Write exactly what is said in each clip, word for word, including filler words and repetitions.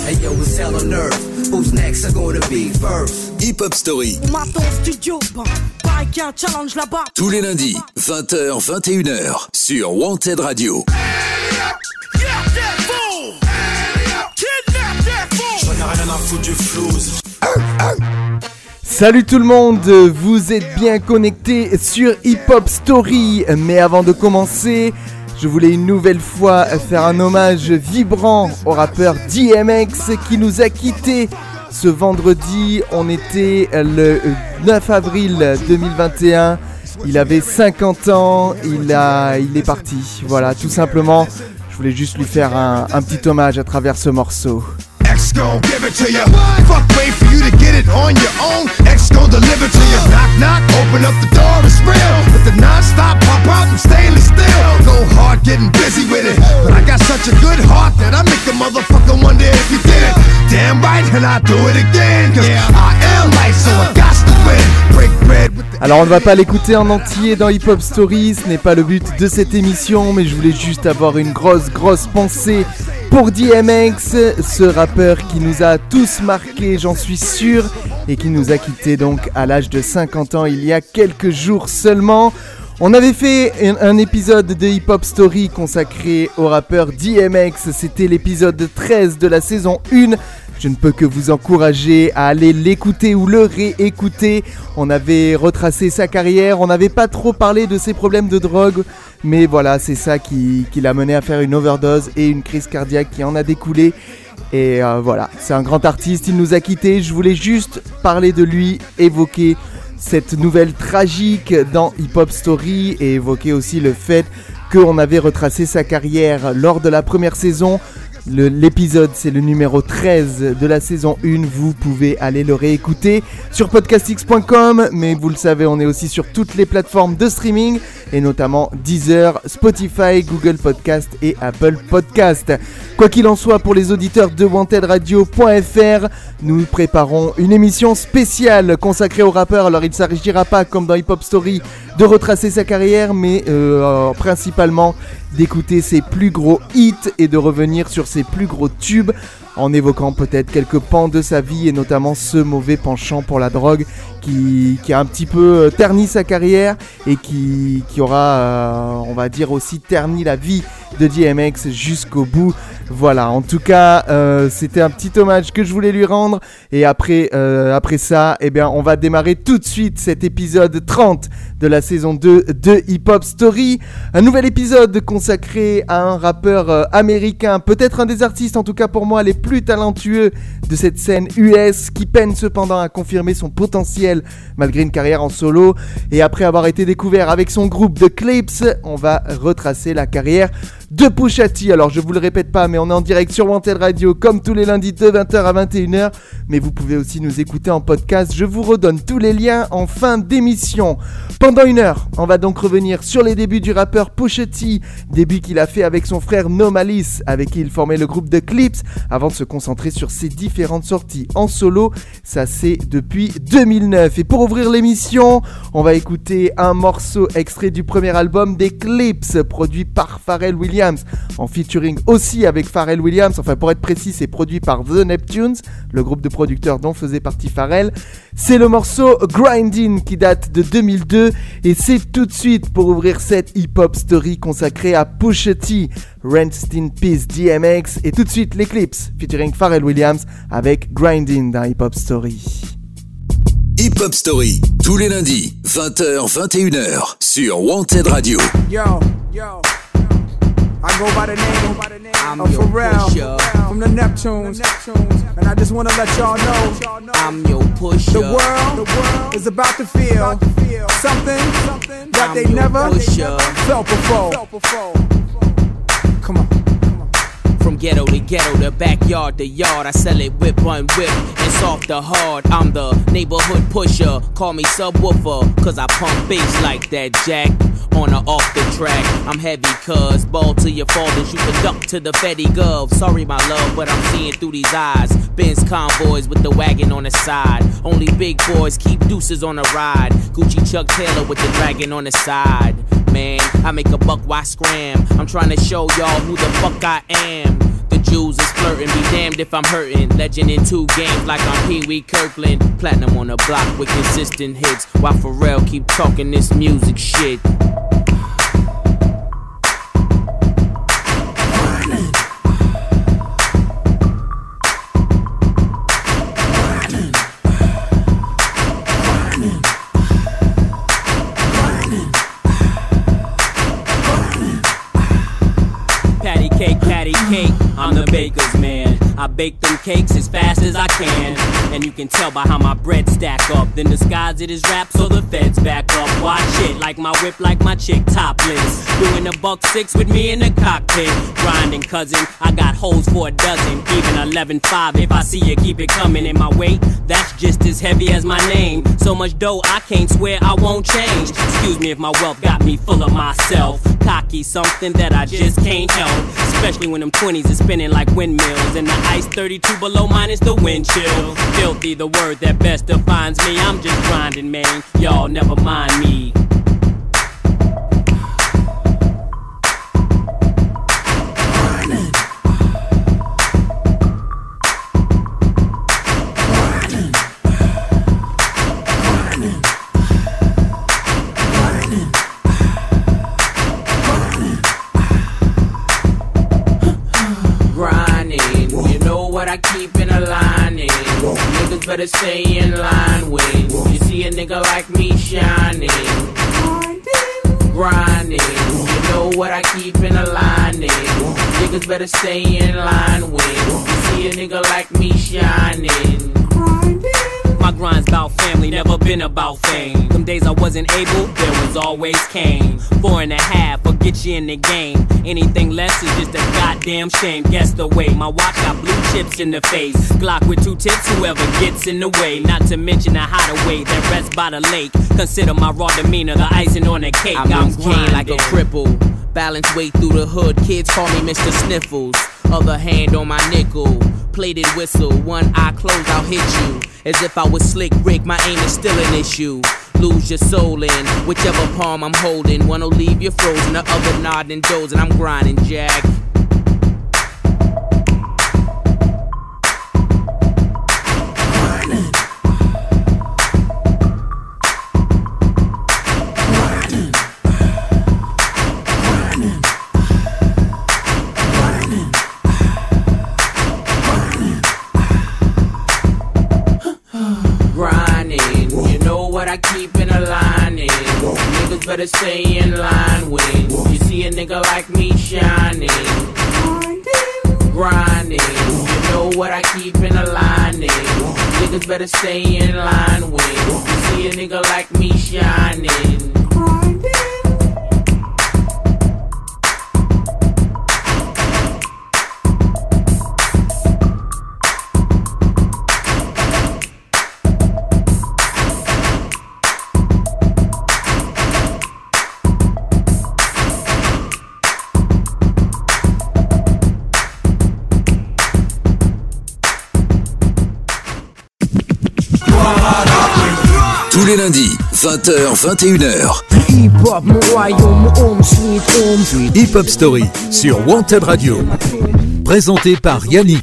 Hey yo, it's hell on earth. Who's next are gonna be first? Hip Hop Story. Maton studio, bah, pareil qu'il y a un challenge là-bas. Tous les lundis, vingt heures, vingt et une heures, sur Wanted Radio. Salut tout le monde, vous êtes bien connectés sur Hip Hop Story. Mais avant de commencer, je voulais une nouvelle fois faire un hommage vibrant au rappeur D M X qui nous a quittés ce vendredi. On était le neuf avril deux mille vingt et un. Il avait cinquante ans, il, a, il est parti. Voilà, tout simplement, je voulais juste lui faire un, un petit hommage à travers ce morceau. X gon' give it to you. Fuck, wait for you to get it on your own. X gon' deliver to you. Knock, knock, open up the door, it's real. With the non-stop pop out and stainless steel. Go hard, getting busy with it. But I got such a good heart that I make a motherfucker wonder if you did it. Damn right, and I do it again. Cause I am light, so I got to win. Break bread with the... Alors on ne va pas l'écouter en entier dans Hip Hop Story, ce n'est pas le but de cette émission, mais je voulais juste avoir une grosse grosse pensée pour D M X, ce rappeur qui nous a tous marqués, j'en suis sûr, et qui nous a quittés donc à l'âge de cinquante ans il y a quelques jours seulement. On avait fait un, un épisode de Hip Hop Story consacré au rappeur D M X, c'était l'épisode treize de la saison un. Je ne peux que vous encourager à aller l'écouter ou le réécouter. On avait retracé sa carrière, on n'avait pas trop parlé de ses problèmes de drogue, mais voilà, c'est ça qui, qui l'a mené à faire une overdose et une crise cardiaque qui en a découlé. Et euh, voilà, c'est un grand artiste, il nous a quittés. Je voulais juste parler de lui, évoquer cette nouvelle tragique dans Hip Hop Story et évoquer aussi le fait qu'on avait retracé sa carrière lors de la première saison. Le, l'épisode c'est le numéro treize de la saison un, vous pouvez aller le réécouter sur podcastx point com, mais vous le savez on est aussi sur toutes les plateformes de streaming et notamment Deezer, Spotify, Google Podcast et Apple Podcast. Quoi qu'il en soit, pour les auditeurs de wanted radio point f r, nous préparons une émission spéciale consacrée au rappeur. Alors il ne s'agira pas comme dans Hip Hop Story de retracer sa carrière, mais euh, principalement d'écouter ses plus gros hits et de revenir sur ses plus gros tubes en évoquant peut-être quelques pans de sa vie et notamment ce mauvais penchant pour la drogue qui, qui a un petit peu terni sa carrière et qui, qui aura, euh, on va dire aussi terni la vie de D M X jusqu'au bout. Voilà, en tout cas, euh, c'était un petit hommage que je voulais lui rendre. Et après, euh, après ça, eh bien, on va démarrer tout de suite cet épisode trente de la saison deux de Hip Hop Story. Un nouvel épisode consacré à un rappeur euh, américain, peut-être un des artistes, en tout cas pour moi, les plus talentueux de cette scène U S, qui peine cependant à confirmer son potentiel malgré une carrière en solo. Et après avoir été découvert avec son groupe The Clipse, on va retracer la carrière de Pusha T. Alors je vous le répète pas, mais on est en direct sur Wanted Radio comme tous les lundis de vingt heures à vingt et une heures, mais vous pouvez aussi nous écouter en podcast. Je vous redonne tous les liens en fin d'émission. Pendant une heure, on va donc revenir sur les débuts du rappeur Pusha T, début qu'il a fait avec son frère No Malice, avec qui il formait le groupe The Clipse, avant de se concentrer sur ses différentes sorties en solo. Ça c'est depuis deux mille neuf. Et pour ouvrir l'émission, on va écouter un morceau extrait du premier album des Clipse, produit par Pharrell Williams, en featuring aussi avec Pharrell Williams. Enfin, pour être précis, c'est produit par The Neptunes, le groupe de producteurs dont faisait partie Pharrell. C'est le morceau Grindin qui date de deux mille deux et c'est tout de suite pour ouvrir cette Hip Hop Story consacrée à Pusha T. Rest in Peace D M X, et tout de suite les Clipse featuring Pharrell Williams avec Grindin dans Hip Hop Story. Hip Hop Story, tous les lundis, vingt heures, vingt et une heures, sur Wanted Radio. Yo, yo. I go by the name I'm of Pharrell pusher. From the Neptunes, and I just wanna let y'all know I'm your pusher. The world, the world is about to feel something, something that I'm they never pusher. felt before. Come on. From ghetto to ghetto, the backyard to yard, I sell it whip on whip and soft to hard. I'm the neighborhood pusher, call me subwoofer, cause I pump bass like that, Jack. On or off the track, I'm heavy cuz ball to your fathers, you can duck to the Fetty Gov. Sorry my love, but I'm seeing through these eyes. Benz convoys with the wagon on the side. Only big boys keep deuces on the ride. Gucci Chuck Taylor with the dragon on the side. Man, I make a buck, why scram? I'm trying to show y'all who the fuck I am. The dudes is flirting. Be damned if I'm hurting. Legend in two games like I'm Pee Wee Kirkland. Platinum on the block with consistent hits. While Pharrell keep talking this music shit. Cake, I'm the baker's man. I bake them cakes as fast as I can. And you can tell by how my bread stack up. Then disguise it as rap so the feds back up. Watch it, like my whip, like my chick topless. Doing a buck six with me in the cockpit. Grinding, cousin, I got hoes for a dozen. Even eleven five, if I see you, keep it coming. In my weight, that's just as heavy as my name. So much dough, I can't swear I won't change. Excuse me if my wealth got me full of myself. Cocky, something that I just can't help. Especially when them twenties is spinning like windmills. And the ice thirty-two below minus the wind chill. Filthy, the word that best defines me. I'm just grinding, man. Y'all never mind me. I keep in a line in. Niggas better stay in line when you see a nigga like me shining. Grinding, you know what I keep in a line in. Niggas better stay in line when you see a nigga like me shining. My grind's about family, never been about fame. Them days I wasn't able, there was always Kane. Four and a half, will get you in the game. Anything less is just a goddamn shame. Guess the way, my watch got blue chips in the face. Glock with two tips, whoever gets in the way. Not to mention the hideaway that rests by the lake. Consider my raw demeanor, the icing on the cake. I'm, I'm grinding like a cripple. Balance way through the hood, kids call me Mister Sniffles. Other hand on my nickel, plated whistle. One eye closed, I'll hit you. As if I was Slick Rick, my aim is still an issue. Lose your soul in whichever palm I'm holding. One'll leave you frozen, the other nodding dozing. I'm grinding, Jack. I keep in a line in. Niggas better stay in line when you see a nigga like me shining. Grinding, you know what I keep in a line in. Niggas better stay in line when you see a nigga like me shining. Tous les lundis, vingt heures, vingt et une heures. Hip Hop Story sur Wanted Radio. Présenté par Yannick.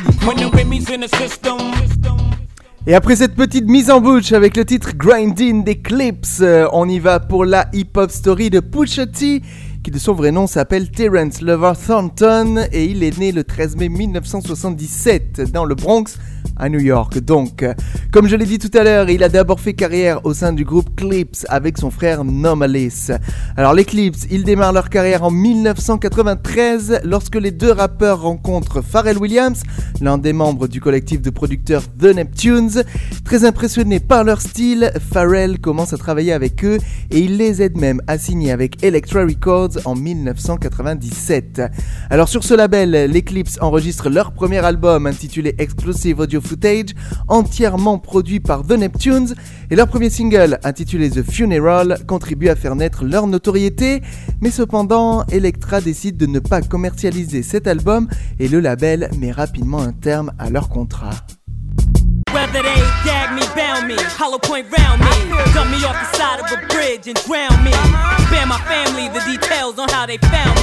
Et après cette petite mise en bouche avec le titre Grindin' des Clips, euh, on y va pour la Hip Hop Story de Pusha T, qui de son vrai nom s'appelle Terrence Lover Thornton, et il est né le treize mai mille neuf cent soixante-dix-sept dans le Bronx, à New York. Donc, comme je l'ai dit tout à l'heure, il a d'abord fait carrière au sein du groupe Clips avec son frère Nomalis. Alors les Clips, ils démarrent leur carrière en mille neuf cent quatre-vingt-treize lorsque les deux rappeurs rencontrent Pharrell Williams, l'un des membres du collectif de producteurs The Neptunes. Très impressionné par leur style, Pharrell commence à travailler avec eux et il les aide même à signer avec Elektra Records en mille neuf cent quatre-vingt-dix-sept. Alors sur ce label, les Clips enregistrent leur premier album intitulé Exclusive Audio Footage, entièrement produit par The Neptunes, et leur premier single intitulé The Funeral contribue à faire naître leur notoriété, mais cependant Elektra décide de ne pas commercialiser cet album et le label met rapidement un terme à leur contrat. Whether they gag me, bound me, hollow point round me, dump me off the side of a bridge and drown me, spare my family the details on how they found me.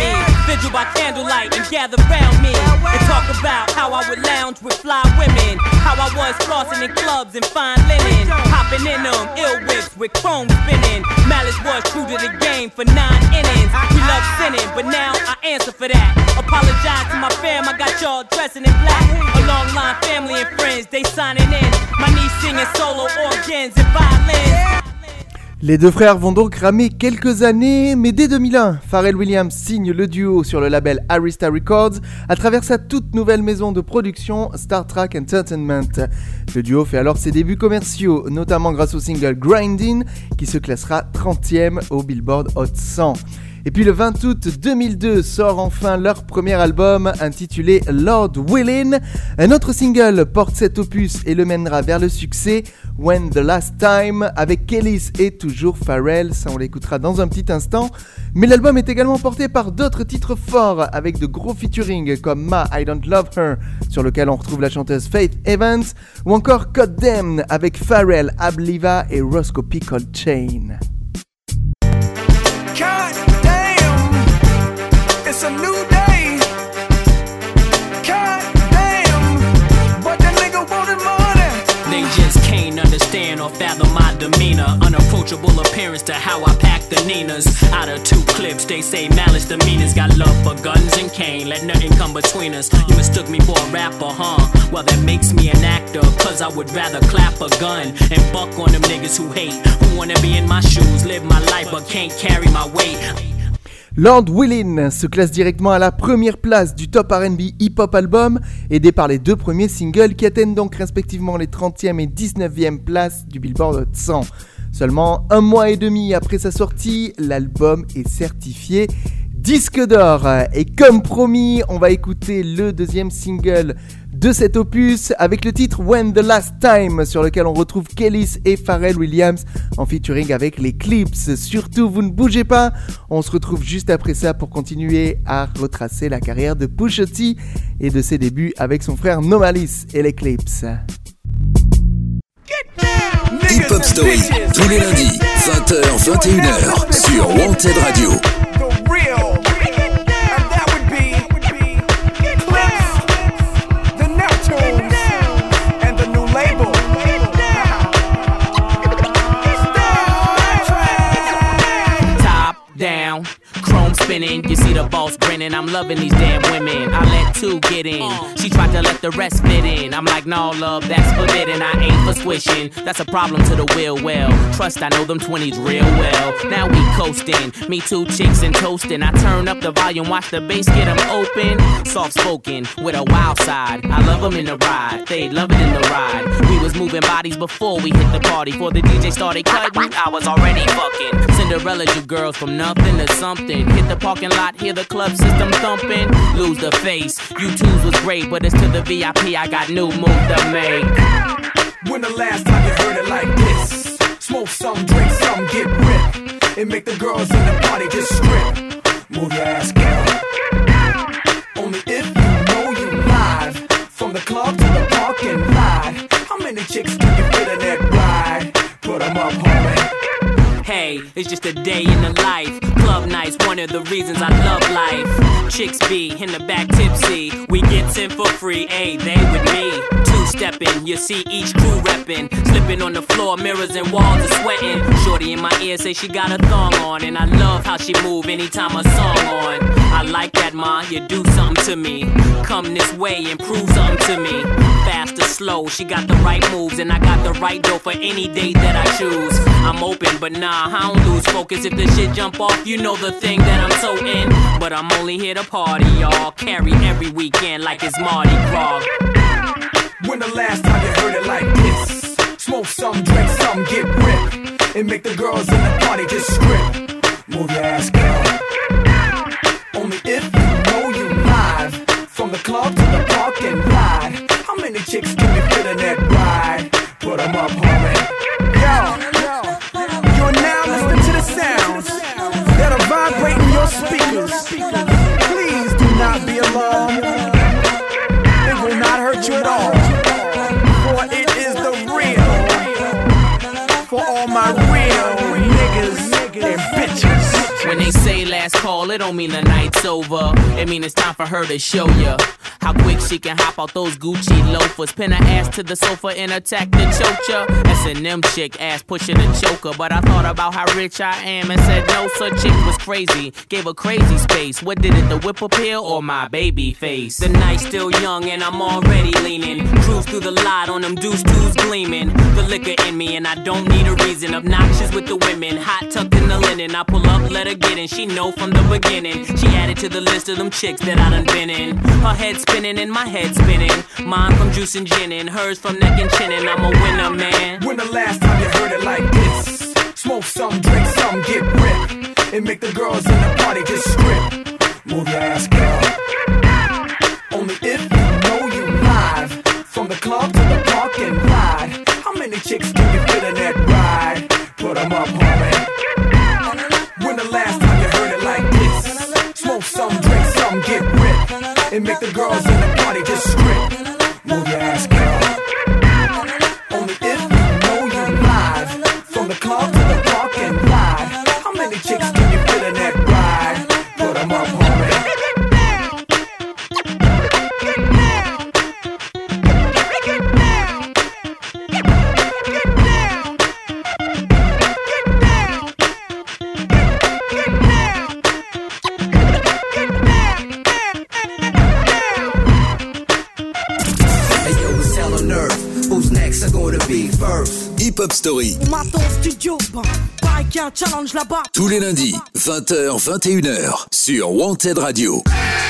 vigil by candlelight and gather round me and talk about how I would lounge with fly women, how I was flossing in clubs and fine linen, hopping in them ill whips with chrome spinning. Malice was true to the game for nine innings. He loved sinning, but now I answer for that. Apologize to my fam, I got y'all dressing in black. A long line family and friends, they signing in. My niece singing solo organs and violins. Les deux frères vont donc ramer quelques années, mais dès deux mille un, Pharrell Williams signe le duo sur le label Arista Records à travers sa toute nouvelle maison de production Star Trak Entertainment. Le duo fait alors ses débuts commerciaux, notamment grâce au single Grindin, qui se classera trentième au Billboard Hot cent. Et puis le vingt août deux mille deux sort enfin leur premier album intitulé Lord Willin'. Un autre single porte cet opus et le mènera vers le succès, When the Last Time, avec Kelis et toujours Pharrell, ça on l'écoutera dans un petit instant. Mais l'album est également porté par d'autres titres forts avec de gros featuring comme Ma I Don't Love Her, sur lequel on retrouve la chanteuse Faith Evans, ou encore Cut Them avec Pharrell, Abliva et Roscoe P. Coltrane. It's a new day. God damn, but the nigga wanted money. They just can't understand or fathom my demeanor. Unapproachable appearance to how I pack the Ninas. Out of two clips, they say Malice the meanest. Got love for guns and cane, let nothing come between us. You mistook me for a rapper, huh? Well, that makes me an actor, cause I would rather clap a gun and buck on them niggas who hate, who wanna be in my shoes, live my life but can't carry my weight. Lord Willin' se classe directement à la première place du top R and B hip-hop album, aidé par les deux premiers singles qui atteignent donc respectivement les trentième et dix-neuvième places du Billboard Hot cent. Seulement un mois et demi après sa sortie, l'album est certifié disque d'or. Et comme promis, on va écouter le deuxième single de cet opus avec le titre When the Last Time, sur lequel on retrouve Kelis et Pharrell Williams en featuring avec les Clips. Surtout, vous ne bougez pas, on se retrouve juste après ça pour continuer à retracer la carrière de Pusha T et de ses débuts avec son frère Nomalis et les Clips. Hip Hop Story, tous les lundis, vingt heures vingt et une heures sur Wanted Radio. Down, chrome spinning, you see the boss grinning. I'm loving these damn women. I let two get in. She tried to let the rest fit in. I'm like, no, love, that's forbidden. I ain't for swishing. That's a problem to the will. Well, trust, I know them twenties real well. Now we coasting. Me two chicks and toasting. I turn up the volume, watch the bass get them open. Soft spoken with a wild side. I love them in the ride. They love it in the ride. We was moving bodies before we hit the party. Before the D J started cutting, I was already fucking. Cinderella, you girls from nothing to something. Hit the parking lot, hear the club system thumping. Lose the face. You twos was great, but it's to the V I P. I got new move to make. When the last time you heard it like this? Smoke some, drink some, get ripped. And make the girls in the party just strip. Move your ass, girl. Only if you know you live. From the club to the parking lot. How many chicks can you fit in that ride? Put them up, homie. Hey, it's just a day in the life. Club nights, one of the reasons I love life. Chicks be in the back tipsy. We get in for free, ayy, they with me. Two-stepping, you see each crew reppin'. Slipping on the floor, mirrors and walls are sweating. Shorty in my ear say she got a thong on. And I love how she move anytime a song on. I like that, ma, you do something to me. Come this way and prove something to me. Fast or slow, she got the right moves. And I got the right dough for any date that I choose. I'm open, but nah, I don't lose focus. If the shit jump off, you know the thing that I'm so in. But I'm only here to party, y'all. Carry every weekend like it's Mardi Gras. When the last time you heard it like this? Smoke some, drink some, get ripped. And make the girls in the party just strip. Move your ass, girl. Only if you know you live. From the club to the parking lot. How many chicks can you fit in that ride? Put them up, homie. Yo, yo, you're now listening to the sounds that are vibrating your speakers. Please do not be alarmed. It will not hurt you at all. For it is the real. For all my real niggas and bitches. When they say last last call, it don't mean the night's over. It mean it's time for her to show ya how quick she can hop out those Gucci loafers. Pin her ass to the sofa and attack the chocha. S and M chick, ass pushing a choker. But I thought about how rich I am and said no, such chick was crazy. Gave her crazy space. What did it, the whip appeal or my baby face? The night's still young and I'm already leaning. Cruise through the lot on them deuce twos gleaming. The liquor in me and I don't need a reason. Obnoxious with the women, hot tucked in the linen. I pull up, let her get in, she know from the beginning. She added to the list of them chicks that I done been in. Her head spinning and my head spinning. Mine from juice and gin and hers from neck and chin. And I'm a winner, man. When the last time you heard it like this? Smoke some, drink some, get ripped. And make the girls in the party just strip. Move your ass, girl. Only if you know you live. From the club to the park and ride. How many chicks can you fit in that ride? Put them up, homie. When the last time you heard it like this? Smoke some, drink some, get ripped. And make the girls in the party just strip. Move your ass, girl. Only if you know you live. From the club to the park and ride. How many chicks can you fit in that ride? Put them up, homie. Hip Hop Story. On m'attend au studio, bon, pareil qu'il y a un challenge là-bas. Tous les lundis, vingt heures vingt et une heures, sur Wanted Radio.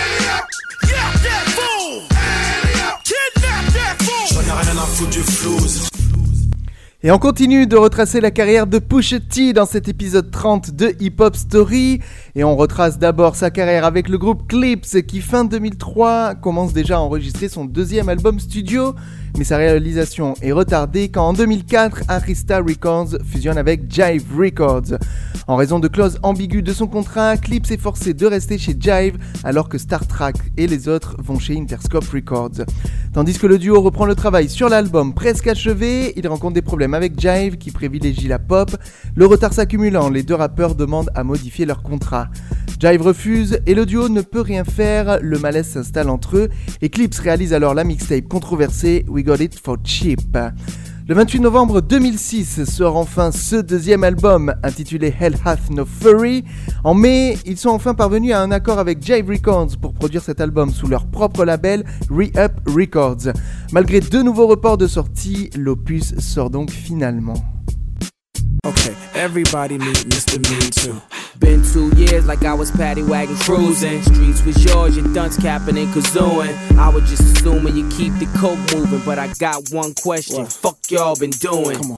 Et on continue de retracer la carrière de Pusha T dans cet épisode trente de Hip Hop Story. Et on retrace d'abord sa carrière avec le groupe Clipse qui fin deux mille trois commence déjà à enregistrer son deuxième album studio. Mais sa réalisation est retardée quand en deux mille quatre, Arista Records fusionne avec Jive Records. En raison de clauses ambiguës de son contrat, Clipse est forcé de rester chez Jive alors que Star Trak et les autres vont chez Interscope Records. Tandis que le duo reprend le travail sur l'album presque achevé, il rencontre des problèmes avec Jive qui privilégie la pop. Le retard s'accumulant, les deux rappeurs demandent à modifier leur contrat. Jive refuse et le duo ne peut rien faire, le malaise s'installe entre eux et Clipse réalise alors la mixtape controversée We Got It For Cheap. Le vingt-huit novembre deux mille six sort enfin ce deuxième album intitulé Hell Hath No Fury. En mai, ils sont enfin parvenus à un accord avec Jive Records pour produire cet album sous leur propre label Re-Up Records. Malgré deux nouveaux reports de sortie, l'opus sort donc finalement. Okay, everybody meet Mister Me Too. Been two years like I was paddy wagon cruising. Streets was yours, your dunce capping and kazooing. I was just assuming you keep the coke moving, but I got one question. What? Fuck y'all been doing? Come on.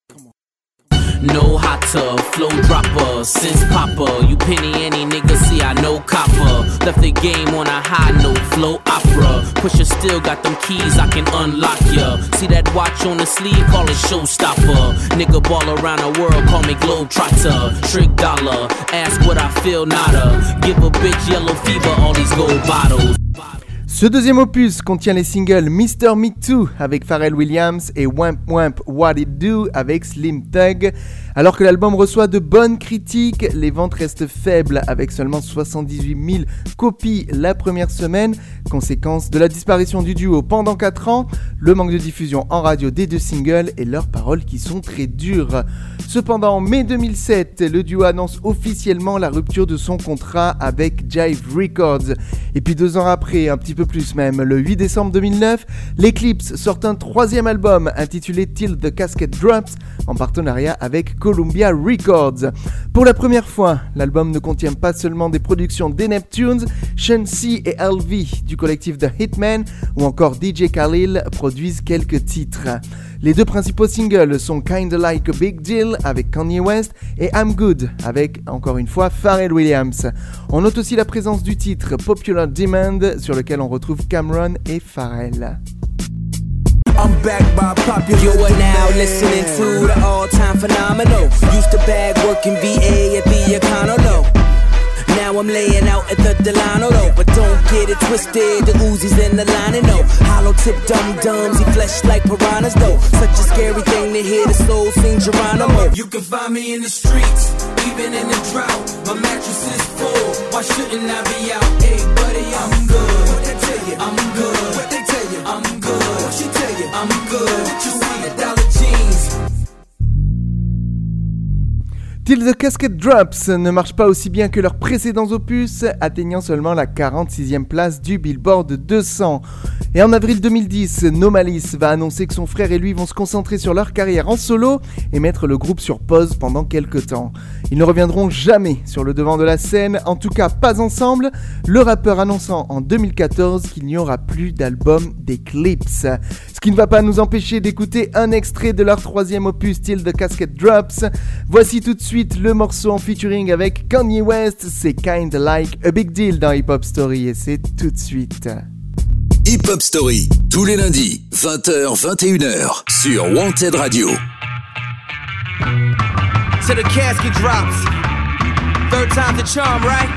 No hot tub, flow dropper, since Papa. You penny any nigga, see I know copper. Left the game on a high note, flow opera. Pusher still got them keys, I can unlock ya. See that watch on the sleeve, call it showstopper. Nigga ball around the world, call me Globetrotter. Trick dollar, ask what I feel, nada. Give a bitch yellow fever, all these gold bottles. Ce deuxième opus contient les singles Mister Me Too avec Pharrell Williams et Wamp Wamp What It Do avec Slim Thug. Alors que l'album reçoit de bonnes critiques, les ventes restent faibles avec seulement soixante-dix-huit mille copies la première semaine, conséquence de la disparition du duo pendant quatre ans, le manque de diffusion en radio des deux singles et leurs paroles qui sont très dures. Cependant, en mai deux mille sept, le duo annonce officiellement la rupture de son contrat avec Jive Records. Et puis deux ans après, un petit peu plus même, le huit décembre deux mille neuf, les Clipse sortent un troisième album intitulé Till the Casket Drops en partenariat avec Columbia Records. Pour la première fois, l'album ne contient pas seulement des productions des Neptunes, Sean C et L V du collectif The Hitman ou encore D J Khalil produisent quelques titres. Les deux principaux singles sont Kinda Like a Big Deal avec Kanye West et I'm Good avec, encore une fois, Pharrell Williams. On note aussi la présence du titre Popular Demand sur lequel on retrouve Cameron et Pharrell. I'm back by popular You are now listening to the all-time phenomenal. Used to bag working V A at the Econo. now I'm laying out at the Delano, though. But don't get it twisted, the Uzi's in the line, and no hollow tip dum-dums, he flesh like piranhas, though. Such a scary thing to hear the soul sing Geronimo. You can find me in the streets, even in the drought. My mattress is full, why shouldn't I be out? Hey buddy, I'm good. What they tell you? I'm good. What they tell you? I'm good. What she tell you? I'm good. What you see? A dollar jeans. Till the Casket Drops ne marche pas aussi bien que leurs précédents opus, atteignant seulement la quarante-sixième place du Billboard deux cents. Et en avril deux mille dix, No Malice va annoncer que son frère et lui vont se concentrer sur leur carrière en solo et mettre le groupe sur pause pendant quelques temps. Ils ne reviendront jamais sur le devant de la scène, en tout cas pas ensemble, le rappeur annonçant en deux mille quatorze qu'il n'y aura plus d'album d'Eclipse. Ce qui ne va pas nous empêcher d'écouter un extrait de leur troisième opus, Till the Casket Drops. Voici tout de suite le morceau en featuring avec Kanye West, c'est Kinda Like a Big Deal dans Hip Hop Story et c'est tout de suite. Hip Hop Story, tous les lundis, vingt heures vingt et une heures, sur Wanted Radio. To the casket drops, third time's the charm, right?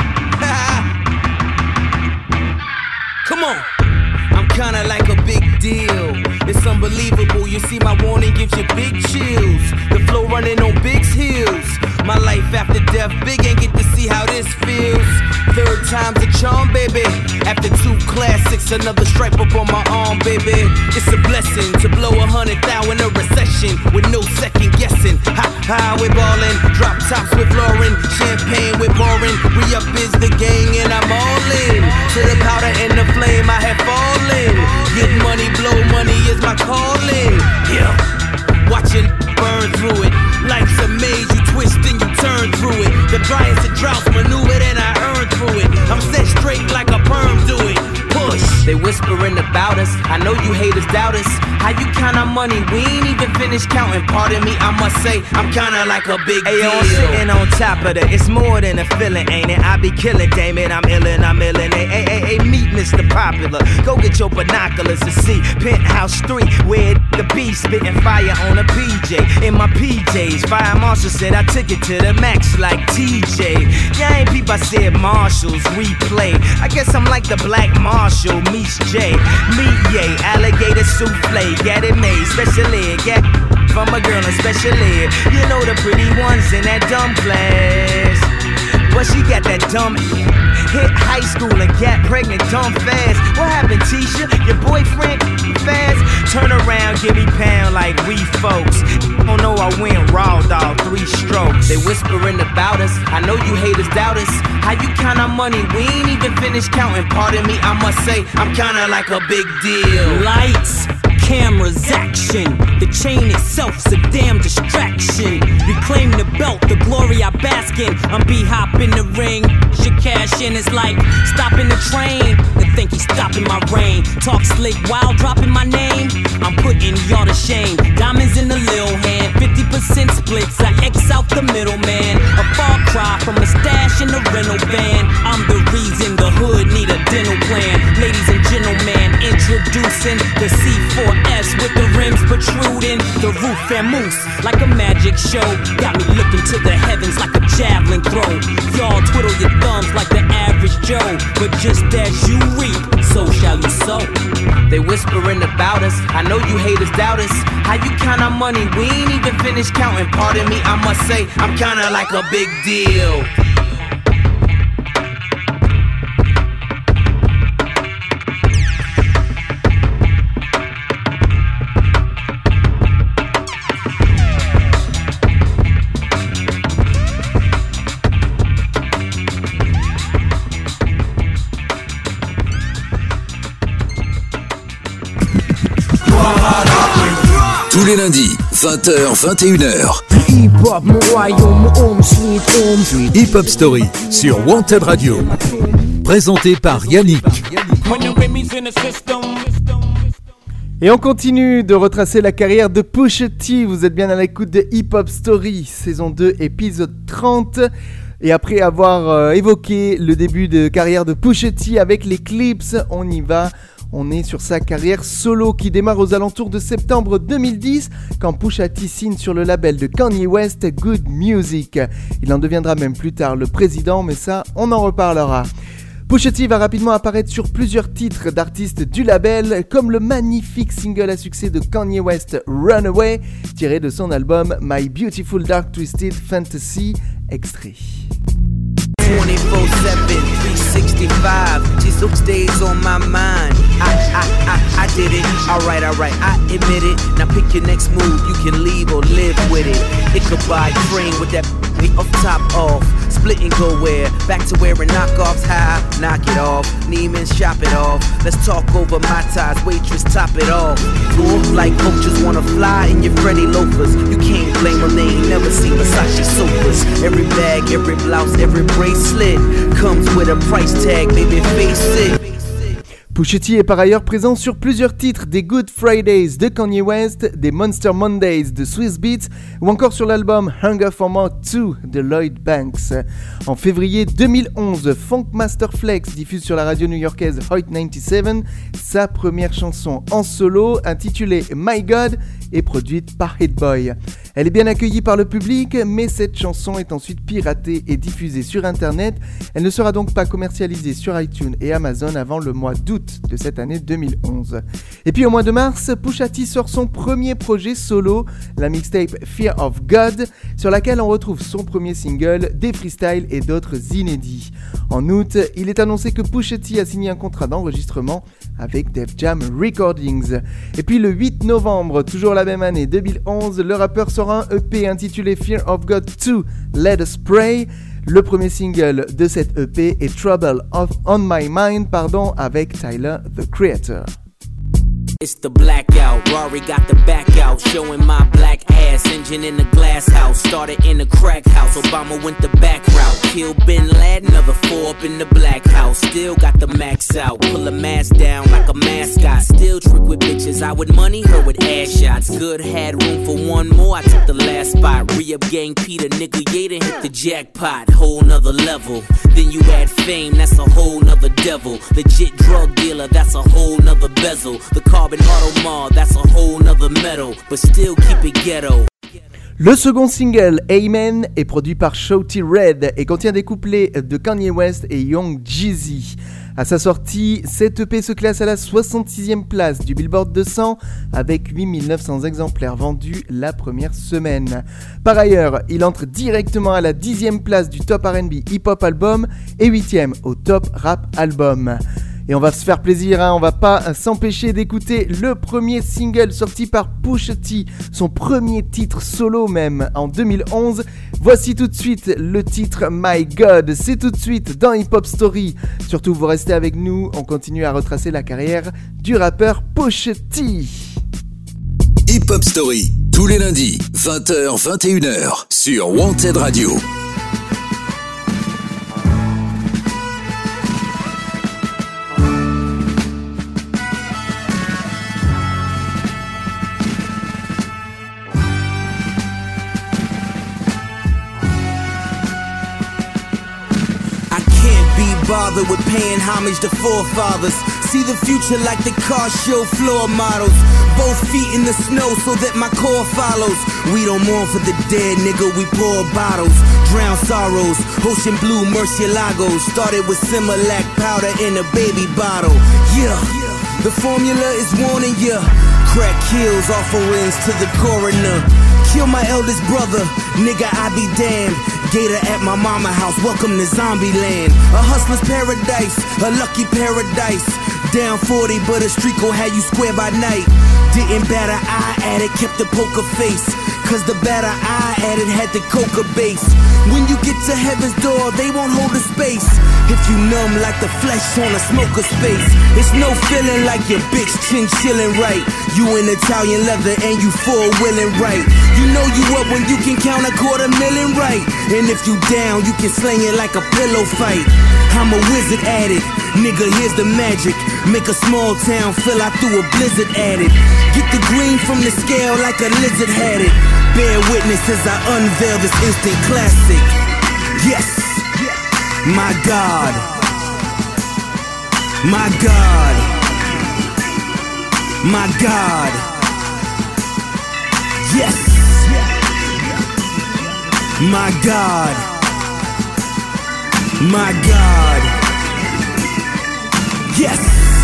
Come on. I'm kinda like a big deal. It's unbelievable. You see my warning gives you big chills. The flow running on Big's heels. My life after death, Big ain't get to see how this feels. Third time's a charm, baby. After two classics, another stripe up on my arm, baby. It's a blessing to blow a hundred thou in a recession with no second guessing. Ha ha, we're ballin'. Drop tops with Lauren, champagne with pouring. Re up is the gang and I'm all in. To the powder and the flame, I have fallen. Get money, blow money is my calling. Yeah, watching burn through it. Life's a maze, you twist and you turn through it. The driest of droughts maneuver and I earn through it. I'm set straight like a perm do it. Push. They whispering about us, I know you haters doubt us. How you count our money, we ain't even finished counting. Pardon me, I must say, I'm kinda like a big Ayo, deal. I'm sitting on top of that, it's more than a feeling, ain't it? I be killing, damn it, I'm illin', I'm illin'. Hey, hey, hey, hey, meet Mister Popular. Go get your binoculars to see Penthouse three, where the beast spitting fire on a P J. In my P Js, Fire Marshal said I took it to the max like T J. Yeah, ain't peep, I said Marshalls, replay. I guess I'm like the Black Marshall, meets J. Meet yay, alligator souffle, get it made, special ed, get from a girl in special ed. You know the pretty ones in that dumb class. But she got that dumb hit high school and got pregnant dumb fast. What happened, Tisha? Your boyfriend fast? Turn around, give me pound like we folks. Oh no, I went raw dog, three strokes. They whispering about us, I know you haters doubt us. How you count our money, we ain't even finished counting. Pardon me, I must say, I'm kinda like a big deal. Lights, cameras, action. The chain itself's a damn distraction. Reclaim the belt, the glory I bask in. I'm B-hop in the ring. Should cash in, it's like stopping the train. They think he's stopping my reign. Talk slick while dropping my name. I'm putting y'all to shame. Diamonds in the lil hand, fifty percent splits. I X out the middleman. A far cry from a stash in the rental van. I'm the reason the hood need a dental plan. Ladies and gentlemen, introducing the C four S with the rims protruding. The roof and moose like a magic show. Got me looking to the heavens like a javelin throw. Y'all twiddle your thumbs like the average Joe. But just as you reap, so shall you sow. They whispering about us, I know you haters doubt us. How you count our money, we ain't even finished counting. Pardon me, I must say, I'm kinda like a big deal. Tous les lundis, vingt heures vingt et une heures. Hip Hop Story sur Wanted Radio. Présenté par Yannick. Et on continue de retracer la carrière de Pusha T. Vous êtes bien à l'écoute de Hip Hop Story, saison deux, épisode trente. Et après avoir euh, évoqué le début de carrière de Pusha T avec les Clips, on y va. On est sur sa carrière solo qui démarre aux alentours de septembre deux mille dix quand Pusha T signe sur le label de Kanye West, Good Music. Il en deviendra même plus tard le président, mais ça, on en reparlera. Pusha T va rapidement apparaître sur plusieurs titres d'artistes du label, comme le magnifique single à succès de Kanye West, Runaway, tiré de son album My Beautiful Dark Twisted Fantasy, extrait. twenty-four seven, three sixty-five, just those days on my mind. I, I, I, I did it, alright, alright, I admit it. Now pick your next move, you can leave or live with it. It could buy a train with that off top off. Split and go where? Back to wearing knockoffs, high, knock it off. Neiman's, shop it off. Let's talk over my ties, waitress, top it off. Cool, like coaches wanna fly in your Freddy loafers. You can't blame them, they ain't never seen Versace sofas. Every bag, every blouse, every bracelet comes with a price tag, baby, face it. Pusha T est par ailleurs présent sur plusieurs titres des Good Fridays de Kanye West, des Monster Mondays de Swizz Beatz ou encore sur l'album Hunger for More deux de Lloyd Banks. En février deux mille onze, Funkmaster Flex diffuse sur la radio new-yorkaise Hot quatre-vingt-dix-sept sa première chanson en solo intitulée My God et produite par Hit Boy. Elle est bien accueillie par le public, mais cette chanson est ensuite piratée et diffusée sur internet. Elle ne sera donc pas commercialisée sur iTunes et Amazon avant le mois d'août de cette année deux mille onze. Et puis au mois de mars, Pusha T sort son premier projet solo, la mixtape Fear of God, sur laquelle on retrouve son premier single, des freestyles et d'autres inédits. En août, il est annoncé que Pusha T a signé un contrat d'enregistrement avec Def Jam Recordings. Et puis le huit novembre, toujours la même année deux mille onze, le rappeur sort un E P intitulé Fear of God deux, Let Us Pray. Le premier single de cette E P est Trouble of On My Mind, pardon, avec Tyler, the Creator. It's the blackout, Rory got the back out, showing my black ass, engine in the glass house, started in the crack house, Obama went the back route, killed Bin Laden, another four up in the black house, still got the max out, pull a mask down like a mascot, still trick with bitches, I would money her with ass shots, good had room for one more, I took the last spot, re-up gang Peter, nigga, yeah, done hit the jackpot, whole nother level, then you add fame, that's a whole nother devil, legit drug dealer, that's a whole nother bezel, the car Automar, that's a whole nother metal, but still keep it ghetto. Le second single, Amen, est produit par Shawty Red et contient des couplets de Kanye West et Young Jeezy. À sa sortie, cette E P se classe à la soixante-sixième place du Billboard deux cents avec huit mille neuf cents exemplaires vendus la première semaine. Par ailleurs, il entre directement à la dixième place du Top R and B Hip Hop Album et huitième au Top Rap Album. Et on va se faire plaisir, hein, on va pas s'empêcher d'écouter le premier single sorti par Pusha T, son premier titre solo même en deux mille onze. Voici tout de suite le titre My God, c'est tout de suite dans Hip Hop Story. Surtout vous restez avec nous, on continue à retracer la carrière du rappeur Pusha T. Hip Hop Story, tous les lundis, vingt heures vingt et une heures sur Wanted Radio. Bothered with paying homage to forefathers. See the future like the car show floor models. Both feet in the snow so that my core follows. We don't mourn for the dead, nigga, we pour bottles. Drown sorrows, ocean blue Murcielagos. Started with Similac powder in a baby bottle. Yeah, the formula is warning ya. Crack kills, offerings to the coroner. Kill my eldest brother, nigga, I be damned. Gator at my mama house, welcome to zombie land. A hustler's paradise, a lucky paradise. Down forty, but a streak gon' have you square by night. Didn't bat an eye at it, kept the poker face. Cause the batter I added had the coca base. When you get to heaven's door, they won't hold a space. If you numb like the flesh on a smoker space. It's no feeling like your bitch chin chillin' right. You in Italian leather and you four-wheeling right. You know you up when you can count a quarter million right. And if you down, you can sling it like a pillow fight. I'm a wizard at it, nigga, here's the magic. Make a small town feel I threw a blizzard at it. Get the green from the scale like a lizard had it. Bear witness as I unveil this instant classic. Yes, my God, my God. My God. Yes. My God. My God. Yes.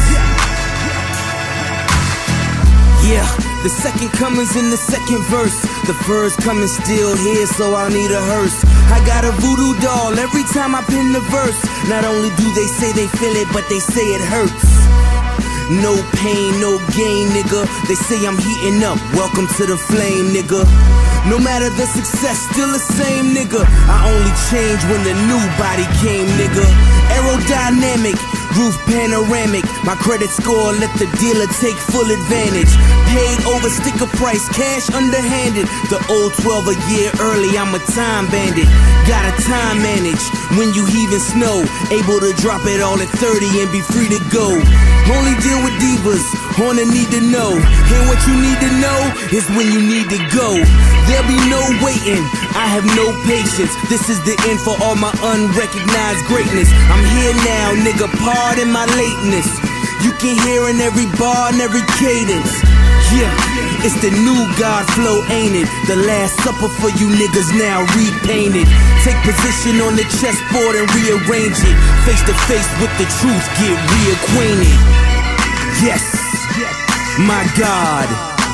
Yeah, the second coming's in the second verse. The first coming still here, so I'll need a hearse. I got a voodoo doll every time I pin the verse. Not only do they say they feel it, but they say it hurts. No pain, no gain, nigga. They say I'm heating up. Welcome to the flame, nigga. No matter the success, still the same, nigga. I only changed when the new body came, nigga. Aerodynamic, roof panoramic. My credit score, let the dealer take full advantage. Paid over sticker price, cash underhanded. The old twelve a year early, I'm a time bandit. Got a time manage when you heaving snow. Able to drop it all at thirty and be free to go. Only deal with divas, on the need to know. And what you need to know is when you need to go. There'll be no waiting, I have no patience. This is the end for all my unrecognized greatness. I'm here now, nigga, pardon my lateness. You can hear in every bar and every cadence. Yeah, it's the new God flow, ain't it? The last supper for you niggas now repainted. Take position on the chessboard and rearrange it. Face to face with the truth, get reacquainted. Yes, my God.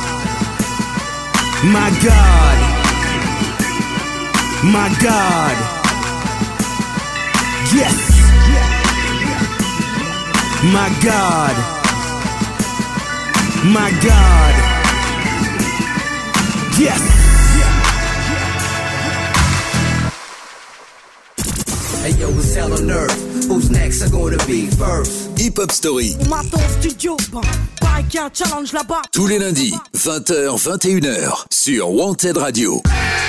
My God. My God. Yes. My God. My God. Yes. Hey yo, it's hell on earth. Who's next are gonna be first? Hip Hop Story. On m'attend au studio, bon, pareil qu'il y a un challenge là-bas. Tous les lundis, vingt heures, vingt et une heures, sur Wanted Radio.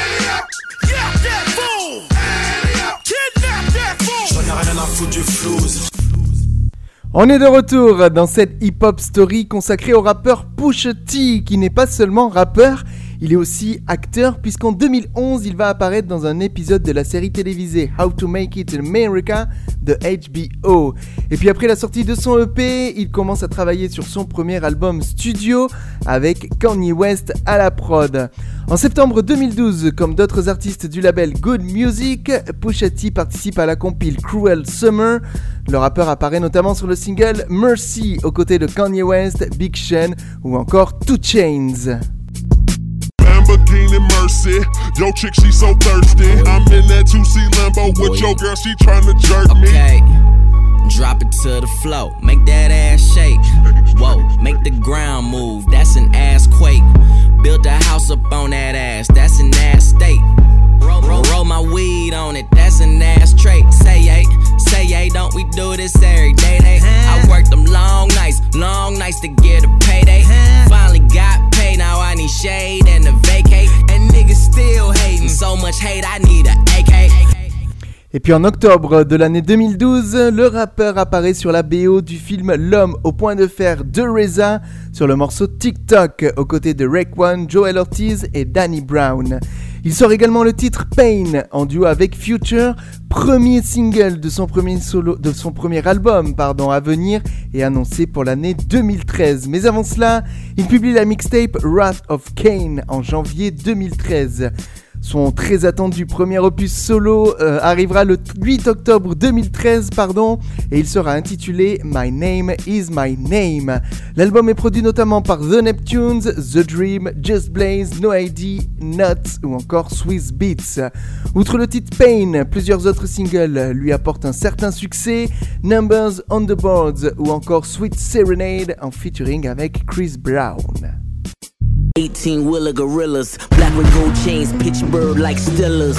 On est de retour dans cette Hip Hop Story consacrée au rappeur Pusha T, qui n'est pas seulement rappeur, il est aussi acteur, puisqu'en deux mille onze, il va apparaître dans un épisode de la série télévisée How to Make It in America de H B O. Et puis après la sortie de son E P, il commence à travailler sur son premier album studio avec Kanye West à la prod. En septembre deux mille douze, comme d'autres artistes du label Good Music, Pusha T participe à la compile Cruel Summer. Le rappeur apparaît notamment sur le single Mercy aux côtés de Kanye West, Big Sean ou encore two Chainz. Lamborghini Mercy, yo chick she so thirsty. I'm in that two C Lambo with your girl, she tryna jerk me. Okay, drop it to the floor, make that ass shake. Whoa, make the ground move, that's an ass quake. Build a house up on that ass, that's an ass state. Roll, roll, roll my weed on it, that's an ass trait. Say yay, say yay, don't we do this every day? They, I worked them long nights, long nights to get a payday. Finally got paid, now I need shade and a vacate. And niggas still hating, so much hate, I need a A K. Et puis en octobre de l'année deux mille douze, le rappeur apparaît sur la B O du film L'homme au point de fer de R Z A sur le morceau TikTok aux côtés de Raekwon, Joel Ortiz et Danny Brown. Il sort également le titre Pain en duo avec Future, premier single de son premier, solo, de son premier album pardon, à venir et annoncé pour l'année deux mille treize. Mais avant cela, il publie la mixtape Wrath of Cain en janvier deux mille treize. Son très attendu premier opus solo euh, arrivera le huit octobre deux mille treize pardon, et il sera intitulé My Name Is My Name. L'album est produit notamment par The Neptunes, The Dream, Just Blaze, No I D, Nuts ou encore Swiss Beats. Outre le titre Pain, plusieurs autres singles lui apportent un certain succès, Numbers on the Boards ou encore Sweet Serenade en featuring avec Chris Brown. eighteen wheeler gorillas, black with gold chains, Pittsburgh like Stillers.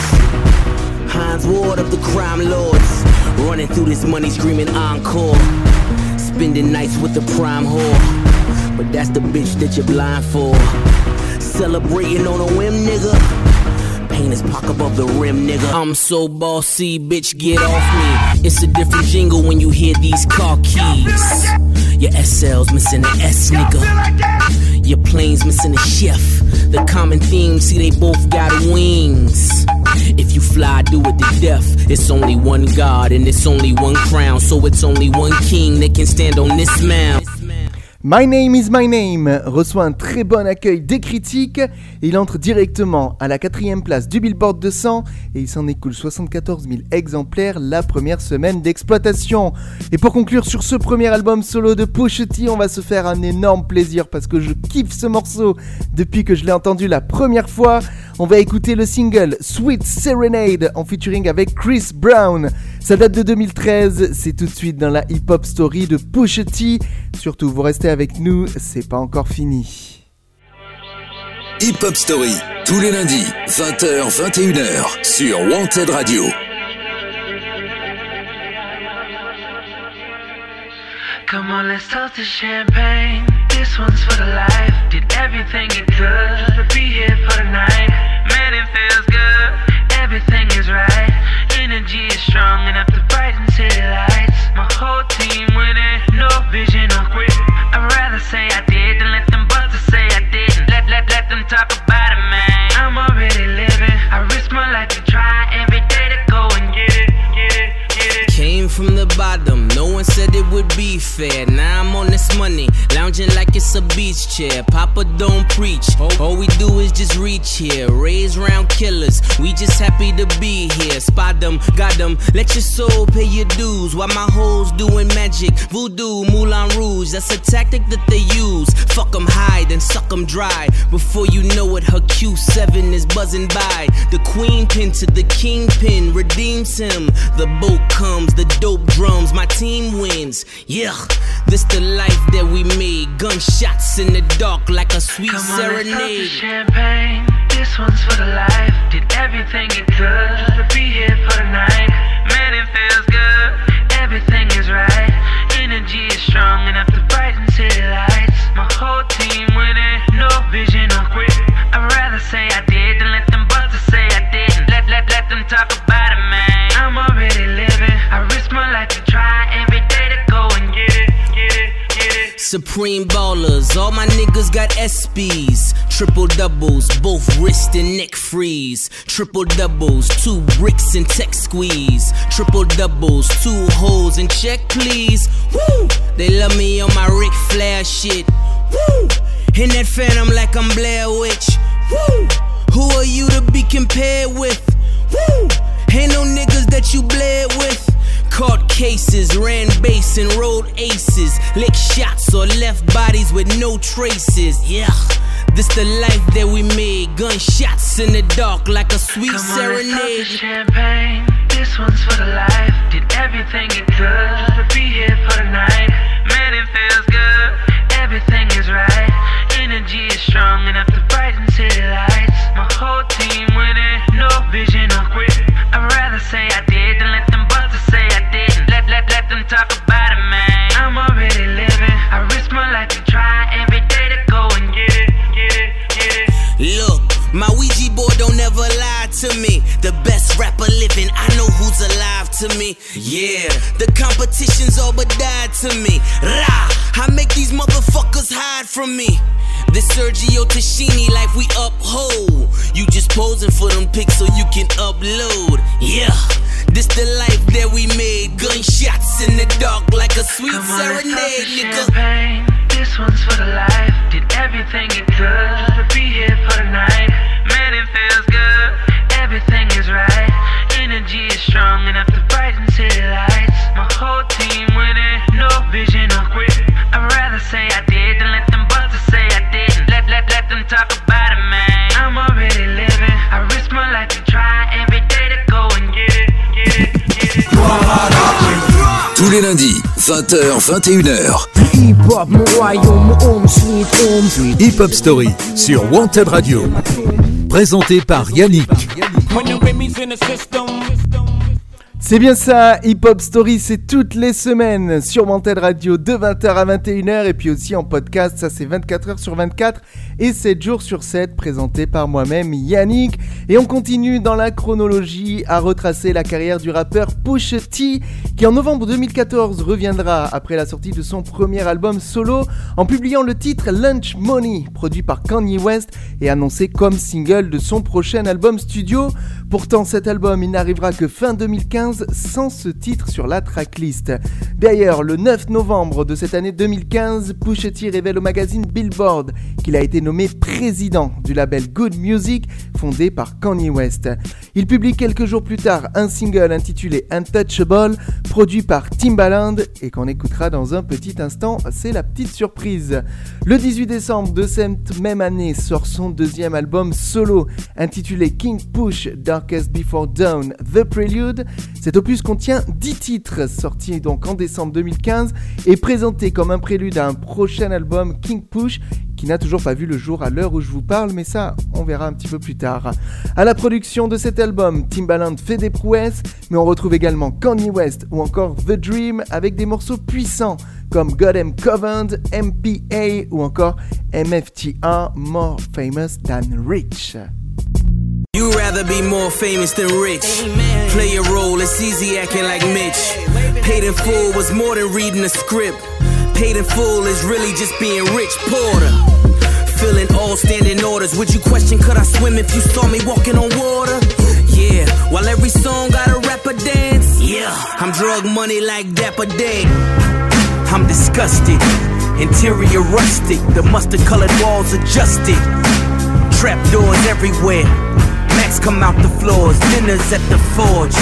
Heinz Ward of the crime lords, running through this money screaming encore. Spending nights with the prime whore, but that's the bitch that you're blind for. Celebrating on a whim, nigga. Pain his pocket above the rim, nigga. I'm so bossy, bitch, get off me. It's a different jingle when you hear these car keys. Your S L's missing an S, nigga. Your plane's missing a chef. The common theme, see they both got wings. If you fly, do it to death. It's only one God and it's only one crown, so it's only one king that can stand on this mound. My Name is My Name reçoit un très bon accueil des critiques et il entre directement à la quatrième place du Billboard deux cents et il s'en écoule soixante-quatorze mille exemplaires la première semaine d'exploitation. Et pour conclure sur ce premier album solo de Pusha T, on va se faire un énorme plaisir parce que je kiffe ce morceau depuis que je l'ai entendu la première fois. On va écouter le single Sweet Serenade en featuring avec Chris Brown. Ça date de deux mille treize, c'est tout de suite dans la Hip Hop Story de Pusha T. Surtout, vous restez avec nous, c'est pas encore fini. Hip Hop Story, tous les lundis, vingt heures, vingt et une heures, sur Wanted Radio. Come on, let's toast to champagne. This one's for the life. Did everything it could to be here for the night. Man, it feels good. Everything is right. Energy is strong enough to brighten city lights. My whole team winning. No vision or quit. I'd rather say I did than let them busters say I didn't. Let, let, let them talk about it, man. I'm already living. I risk my life to try every day to go and get it, get it, get it. Came from the bottom, no one said it would be fair. Now I'm on this money, lounging like it's a beach chair. Papa don't preach, all we do is just reach here. Raise round killers, we just happy to be here. Spot them, got them, let your soul pay your dues. While my hoes doing magic, voodoo, Moulin Rouge. That's a tactic that they use. Fuck them high, then suck them dry. Before you know it, her Q seven is buzzing by. The queen pin to the kingpin redeems him. The boat comes, the dope drums, my team wins. Yeah, this the life that we made. Gunshots in the dark like a sweet Come on, serenade. let's toast to champagne. This one's for the life. Did everything it could to be here for the night. Man, it feels good. Everything is right. Energy is strong enough to brighten city lights. My whole team winning. No vision or quit. I'd rather say I did than let them busters say I didn't. Let, let, let them talk about it, man. I'm already living. I risk my life to try every day to go and get it, get it, get it. Supreme ballers, all my niggas got S Bs. Triple doubles, both wrist and neck freeze. Triple doubles, two bricks and tech squeeze. Triple doubles, two holes and check please. Woo! They love me on my Ric Flair shit. Woo! In that phantom like I'm Blair Witch. Woo! Who are you to be compared with? Woo! Ain't no niggas that you bled with. Caught cases, ran base and rolled aces. Lick shots or left bodies with no traces. Yeah, this the life that we made. Gunshots in the dark like a sweet Come serenade. on, let's toast to champagne. This one's for the life. Did everything it could to be here for the night. Man, it feels good. Everything is right. Energy is strong enough to brighten city lights. My whole team winning. No vision or quit. I'd rather say I did than let them busters say I didn't. Let, let, let them talk about it, man. I'm already living. I risk my life to try every day to go and get it, get it, get it. Look, my Ouija board don't ever lie to me. The best rapper living, I know who's alive to me. Yeah, the competition's all but died to me. Rah, I make these motherfuckers hide from me. This Sergio Tashini like we uphold. You just posing for them pics so you can upload. Yeah, this the life that we made. Gunshots in the dark like a sweet Come on, serenade, let's nigga. champagne. This one's for the life. Did everything it could to be here for the night. Man, it feels good. Everything is right. Energy is strong enough to brighten city lights. My whole team winning. No vision or quit. I'd rather say I did than let them busters say I didn't. Let, let, let them talk about it, man. I'm already living. I risk my life to try every day to go and get it, get it, get it. Tous les lundis, vingt heures, vingt et une heures. Hip Hop Story sur Wanted Radio. Présenté par Yannick. C'est bien ça, Hip Hop Story, c'est toutes les semaines sur Wanted Radio de vingt heures à vingt et une heures et puis aussi en podcast, ça c'est vingt-quatre heures sur vingt-quatre et sept jours sur sept, présenté par moi-même Yannick. Et on continue dans la chronologie à retracer la carrière du rappeur Pusha T, qui qui en novembre deux mille quatorze reviendra après la sortie de son premier album solo en publiant le titre Lunch Money, produit par Kanye West et annoncé comme single de son prochain album studio. Pourtant cet album il n'arrivera que fin deux mille quinze sans ce titre sur la tracklist. D'ailleurs, le neuf novembre de cette année deux mille quinze, Pusha T révèle au magazine Billboard qu'il a été nommé président du label Good Music fondé par Kanye West. Il publie quelques jours plus tard un single intitulé Untouchable, produit par Timbaland et qu'on écoutera dans un petit instant, c'est la petite surprise. Le dix-huit décembre de cette même année sort son deuxième album solo intitulé King Push Darkest Before Dawn The Prelude. Cet opus contient dix titres sortis donc en décembre deux mille quinze et présenté comme un prélude à un prochain album King Push qui n'a toujours pas vu le jour à l'heure où je vous parle, mais ça, on verra un petit peu plus tard. À la production de cet album, Timbaland fait des prouesses, mais on retrouve également Kanye West ou encore The Dream avec des morceaux puissants comme God Am Covenant, M P A ou encore M F T A, More Famous Than Rich. You'd rather be more famous than rich. Play a role, it's easy acting like Mitch. Paid in full was more than reading a script. Paid in full is really just being Rich Porter. Filling all standing orders. Would you question could I swim if you saw me walking on water? Yeah, while every song got a rapper dance. Yeah, I'm drug money like Dapper Dan. I'm disgusted, interior rustic. The mustard colored walls adjusted. Trap doors everywhere. Max come out the floors. Dinners at the forge.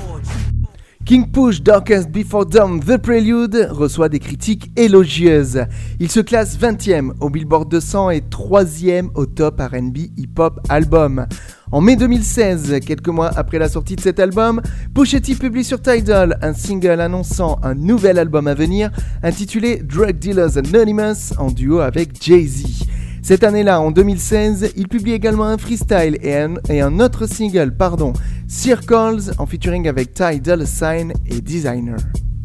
King Push Darkest Before Dawn The Prelude reçoit des critiques élogieuses. Il se classe vingtième au Billboard deux cents et troisième au Top R and B Hip Hop Album. En mai deux mille seize, quelques mois après la sortie de cet album, Pusha T publie sur Tidal un single annonçant un nouvel album à venir intitulé Drug Dealers Anonymous en duo avec Jay-Z. Cette année-là, en deux mille seize, il publie également un freestyle et un, et un autre single, pardon, Circles, en featuring avec Ty Dolla $ign et Designer.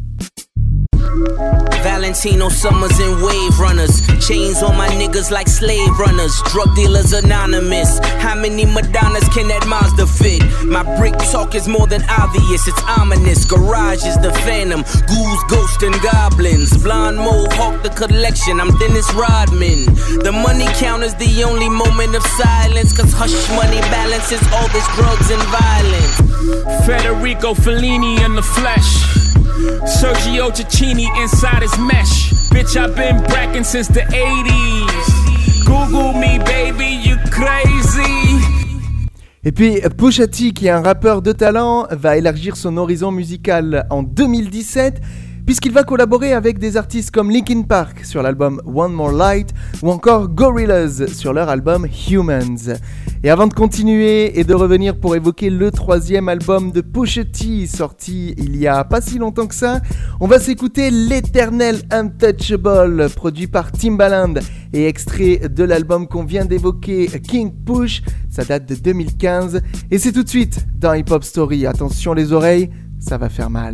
Valentino Summers and Wave Runners. Chains on my niggas like slave runners. Drug dealers anonymous. How many Madonnas can that Mazda fit? My brick talk is more than obvious, it's ominous. Garage is the phantom. Ghouls, ghosts, and goblins. Blonde mohawk, the collection. I'm Dennis Rodman. The money count is the only moment of silence. Cause hush money balances all this drugs and violence. Federico Fellini in the flesh. Sergio Cicchini inside his mesh. Bitch, I've been bracking since the eighties. Google me, baby, you crazy. Et puis Pusha T, qui est un rappeur de talent, va élargir son horizon musical en deux mille dix-sept puisqu'il va collaborer avec des artistes comme Linkin Park sur l'album One More Light ou encore Gorillaz sur leur album Humans. Et avant de continuer et de revenir pour évoquer le troisième album de Pusha T sorti il y a pas si longtemps que ça, on va s'écouter l'éternel Untouchable produit par Timbaland et extrait de l'album qu'on vient d'évoquer King Push, ça date de deux mille quinze et c'est tout de suite dans Hip Hop Story. Attention les oreilles, ça va faire mal.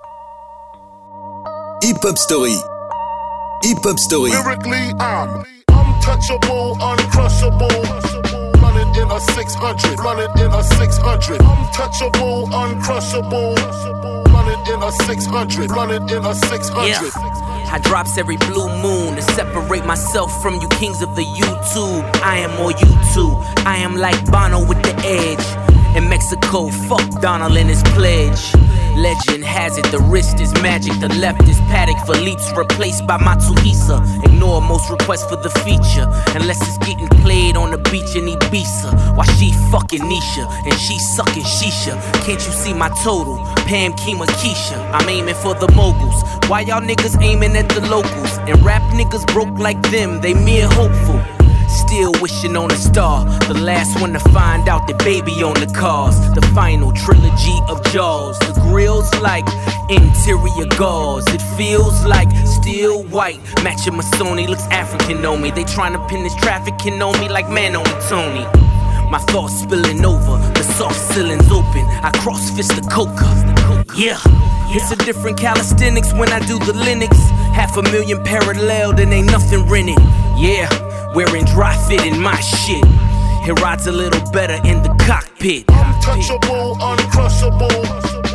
Hip Hop Story. Hip Hop Story. Lyrically, I'm untouchable, uncrushable. Running in a six hundred. Running in a six hundred. Untouchable, uncrushable. Running in a six hundred. Running in a six hundred. Yeah. I drops every blue moon to separate myself from you kings of the YouTube. I am more YouTube. I am like Bono with the edge. In Mexico, fuck Donald and his pledge. Legend has it, the wrist is magic, the left is Paddock Philippe's replaced by Matuisa. Ignore most requests for the feature, unless it's getting played on the beach in Ibiza. While she fucking Nisha, and she sucking Shisha. Can't you see my total? Pam, Kima, Keisha. I'm aiming for the moguls. Why y'all niggas aiming at the locals? And rap niggas broke like them, they mere hopeful. Still wishing on a star. The last one to find out that baby on the cars. The final trilogy of Jaws. The grill's like interior gauze. It feels like steel white. Matching Masoni looks African on me. They trying to pin this trafficking on me like man on Tony. My thoughts spilling over, the soft ceilings open. I cross fist the coca. Yeah, it's a different calisthenics when I do the Linux. Half a million parallel, then ain't nothing rented. Yeah, wearing dry fit in my shit. It rides a little better in the cockpit. Untouchable, uncrushable.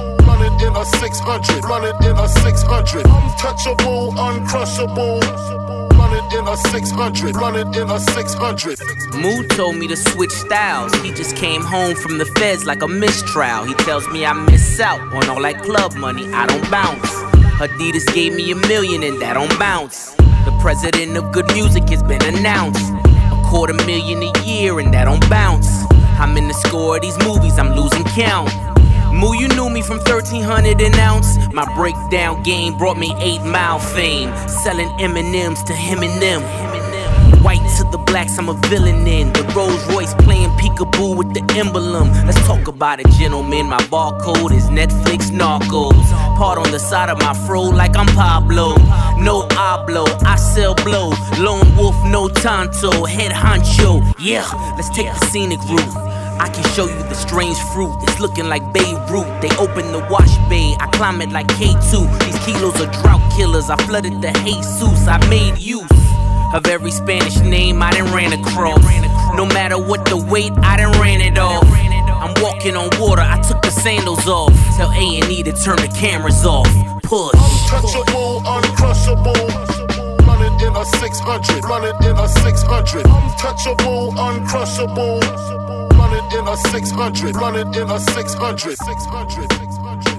it in a six hundred, run it in a six hundred. Untouchable, uncrushable. Run it in a six hundred, run it in a six hundred. Mood told me to switch styles. He just came home from the feds like a mistrial. He tells me I miss out on all that club money, I don't bounce. Adidas gave me a million and that don't bounce. The president of good music has been announced. A quarter million a year and that don't bounce. I'm in the score of these movies, I'm losing count. Moo, you knew me from thirteen hundred an ounce. My breakdown game brought me eight mile fame. Selling M and M's to him and them. White to the blacks, I'm a villain in. The Rolls Royce playing peekaboo with the emblem. Let's talk about it, gentlemen. My barcode is Netflix Narcos. Part on the side of my fro like I'm Pablo. No hablo, I sell blow. Lone wolf, no tanto. Head honcho, yeah, let's take the scenic route. I can show you the strange fruit, it's looking like Beirut. They open the wash bay, I climb it like K two. These kilos are drought killers, I flooded the Jesus. I made use of every Spanish name I done ran across. No matter what the weight, I done ran it off. I'm walking on water, I took the sandals off. Tell A and E to turn the cameras off. Push. Untouchable, uncrushable. Run it in a six hundred, run it in a six hundred. Untouchable, uncrushable. Run it in a six hundred, run it in a six hundred, six hundred, six hundred.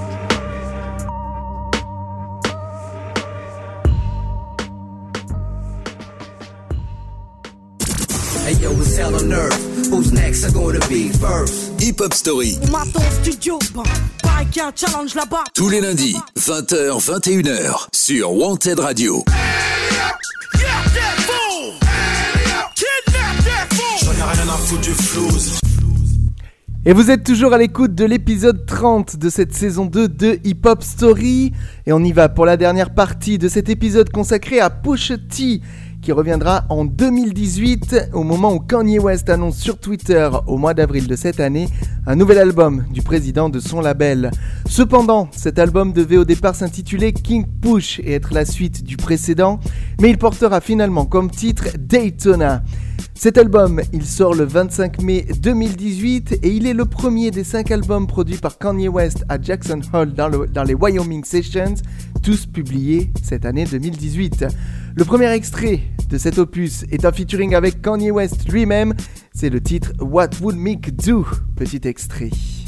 Hey yo, it's hell on earth. Who's next are gonna be first? Hip Hop Story. On m'attend au studio, bah, pareil qu'il y a un challenge là-bas. Tous les lundis, vingt heures, vingt et une heures, sur Wanted Radio. Et vous êtes toujours à l'écoute de l'épisode trente de cette saison deux de Hip Hop Story. Et on y va pour la dernière partie de cet épisode consacré à Pusha T, qui reviendra en deux mille dix-huit, au moment où Kanye West annonce sur Twitter, au mois d'avril de cette année, un nouvel album du président de son label. Cependant, cet album devait au départ s'intituler King Push et être la suite du précédent, mais il portera finalement comme titre Daytona. Cet album, il sort le vingt-cinq mai deux mille dix-huit et il est le premier des cinq albums produits par Kanye West à Jackson Hole dans, le, dans les Wyoming Sessions, tous publiés cette année deux mille dix-huit. Le premier extrait de cet opus est un featuring avec Kanye West lui-même, c'est le titre What Would Meek Do, petit extrait.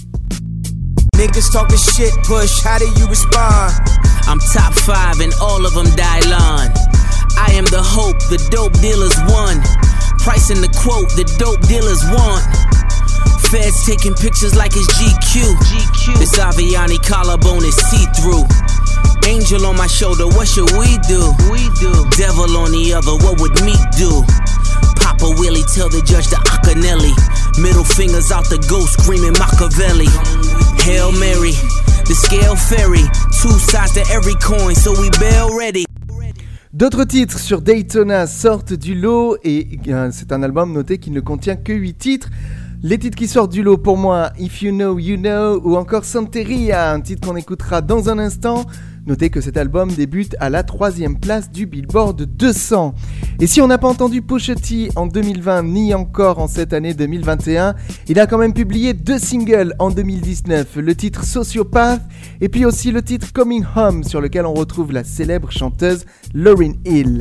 Niggas talking shit, Push, how do you respond? I'm top five and all of them Dylon. I am the hope, the dope dealers won. Pricing the quote, the dope dealers want. Feds taking pictures like it's G Q. G Q. This Aviani collarbone is see-through. Angel on my shoulder, what should we do? We do. Devil on the other, what would Meek do? Papa Willie tell the judge to Acanelli. Middle fingers out the ghost screaming Machiavelli. Hail Mary, the scale fairy. Two sides to every coin, so we bail ready. D'autres titres sur Daytona sortent du lot et euh, c'est un album noté qui ne contient que huit titres. Les titres qui sortent du lot pour moi, If You Know, You Know ou encore Santeria, un titre qu'on écoutera dans un instant. Notez que cet album débute à la troisième place du Billboard deux cents. Et si on n'a pas entendu Pusha T en deux mille vingt ni encore en cette année deux mille vingt et un, il a quand même publié deux singles en deux mille dix-neuf, le titre Sociopath et puis aussi le titre Coming Home sur lequel on retrouve la célèbre chanteuse Lauryn Hill.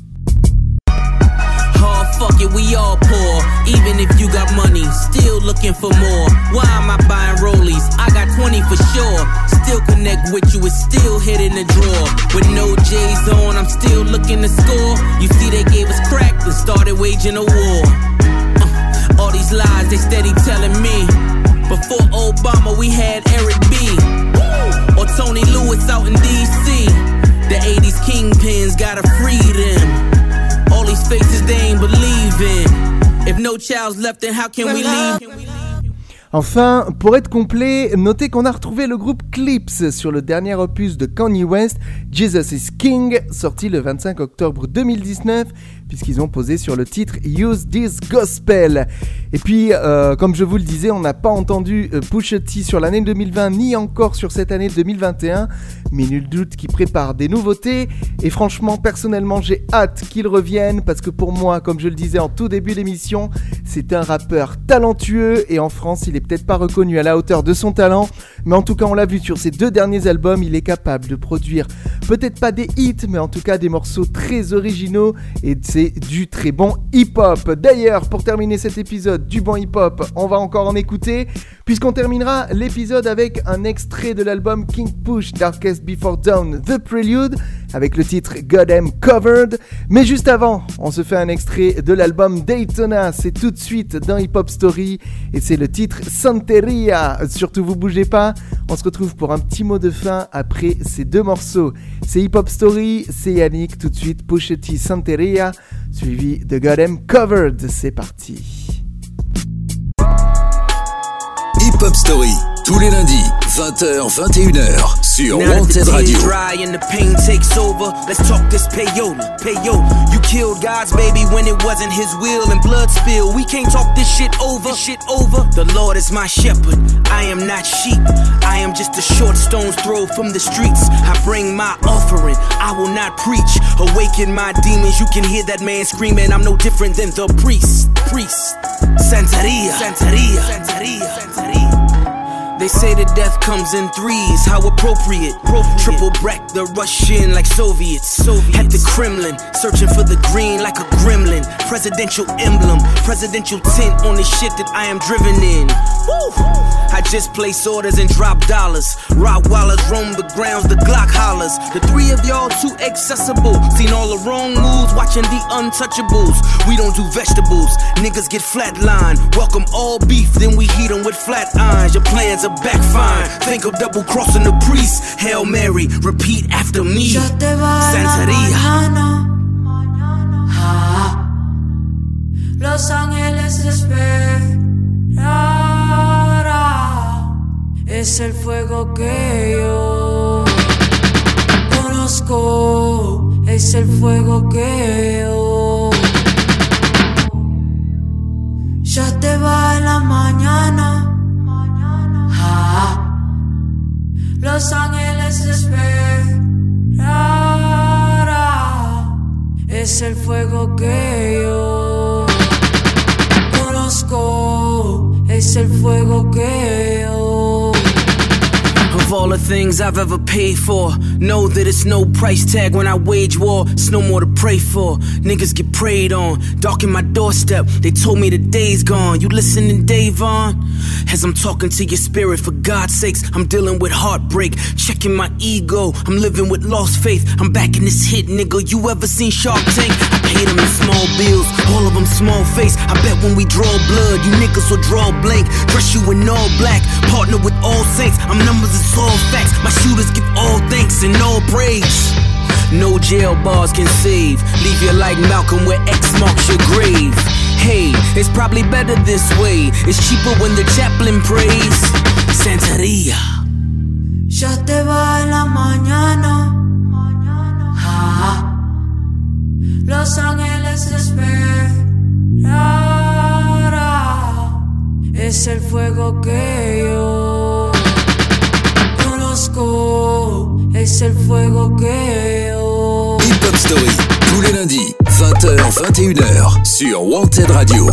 Fuck it, we all poor. Even if you got money, still looking for more. Why am I buying rollies? I got twenty for sure. Still connect with you, it's still hit in the drawer. With no J's on, I'm still looking to score. You see they gave us crack and started waging a war. Uh, all these lies they steady telling me. Before Obama we had Eric B. Or Tony Lewis out in D C. The eighties kingpins gotta free them. All these faces they ain't believe in. If no child's left, then how can we leave? Enfin, pour être complet, notez qu'on a retrouvé le groupe Clipse sur le dernier opus de Kanye West, Jesus is King, sorti le vingt-cinq octobre deux mille dix-neuf, puisqu'ils ont posé sur le titre Use This Gospel. Et puis, euh, comme je vous le disais, on n'a pas entendu euh, Pusha T sur l'année deux mille vingt, ni encore sur cette année deux mille vingt et un, mais nul doute qu'il prépare des nouveautés. Et franchement, personnellement, j'ai hâte qu'il revienne, parce que pour moi, comme je le disais en tout début d'émission, c'est un rappeur talentueux, et en France, il est peut-être pas reconnu à la hauteur de son talent, mais en tout cas, on l'a vu sur ses deux derniers albums, il est capable de produire peut-être pas des hits, mais en tout cas des morceaux très originaux, et c'est du très bon hip-hop. D'ailleurs, pour terminer cet épisode du bon hip-hop, on va encore en écouter, puisqu'on terminera l'épisode avec un extrait de l'album King Push Darkest Before Dawn, The Prelude, avec le titre Goddamn Covered. Mais juste avant, on se fait un extrait de l'album Daytona, c'est tout de suite dans Hip Hop Story, et c'est le titre Santeria. Surtout vous bougez pas, on se retrouve pour un petit mot de fin après ces deux morceaux. C'est Hip Hop Story, c'est Yannick, tout de suite Pusha T Santeria, suivi de Goddamn Covered. C'est parti. Hip Hop Story, tous les lundis, vingt heures, vingt et une heures, sur Wanted Radio. Dry and the pain takes over. Let's talk this payola, payo. You killed God's baby when it wasn't his will and blood spill. We can't talk this shit over, this shit over. The Lord is my shepherd. I am not sheep. I am just a short stone's throw from the streets. I bring my offering. I will not preach. Awaken my demons. You can hear that man screaming. I'm no different than the priest. Priest. Santeria. Santeria. Santeria. Santeria. They say that death comes in threes, how appropriate. appropriate. Triple break the Russian like Soviets. Soviets. At the Kremlin, searching for the green like a gremlin. Presidential emblem, presidential tint on the shit that I am driven in. Woo! I just place orders and drop dollars. Rottweilers roam the grounds, the Glock hollers. The three of y'all too accessible. Seen all the wrong moves, watching the untouchables. We don't do vegetables, niggas get flatlined. Welcome all beef, then we heat them with flat irons. Your plans are backfire. Think of double crossing the priest. Hail Mary, repeat after me. Santeria. Ah, Los ángeles esperarán. Es el fuego que yo conozco. Es el fuego que yo. Ya te va en la mañana. Ah, Los ángeles esperarán. Es el fuego que yo conozco. Es el fuego que yo. Of all the things I've ever paid for, know that it's no price tag when I wage war. It's no more to pray for. Niggas get preyed on, darken my doorstep. They told me the day's gone. You listening, Davon? As I'm talking to your spirit, for God's sakes, I'm dealing with heartbreak, checking my ego. I'm living with lost faith. I'm back in this hit, nigga. You ever seen Shark Tank? I paid them in small bills, all of them small face. I bet when we draw blood, you niggas will draw blank. Dress you in all black, partner with all saints. I'm numbers, it's all facts. My shooters get all thanks and all praise. No jail bars can save. Leave you like Malcolm where X marks your grave. Hey, it's probably better this way. It's cheaper when the chaplain prays. Santeria. Ya te va en la mañana. Ah, Los ángeles esperarán. Es el fuego que yo conozco. Es el fuego que yo. Hip Hop Story, tous les lundis, vingt heures, vingt et une heures, sur Wanted Radio.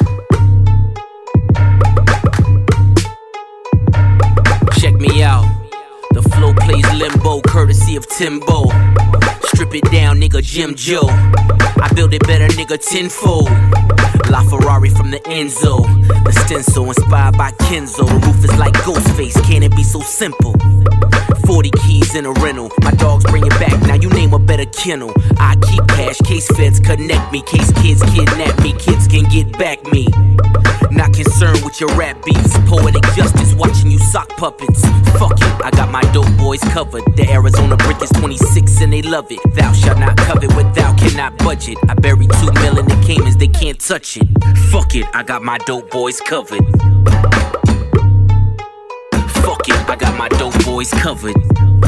Check me out. The flow plays limbo, courtesy of Timbo. Strip it down, nigga, Jim Joe. I build it better, nigga, tenfold. La Ferrari from the Enzo. The stencil inspired by Kenzo. The roof is like Ghostface, can it be so simple? forty keys in a rental. My dogs bring it back, now you name a better kennel. I keep cash, case feds connect me. Case kids kidnap me, kids can get back me. Not concerned with your rap beefs. Poetic justice, watching you sock puppets. Fuck it, I got my dope boys covered. The Arizona brick is twenty-six and they love it. Thou shalt not covet what thou cannot budget. I buried two mil in the Caymans, they can't touch it. Fuck it, I got my dope boys covered. Fuck it, I got my dope boys covered.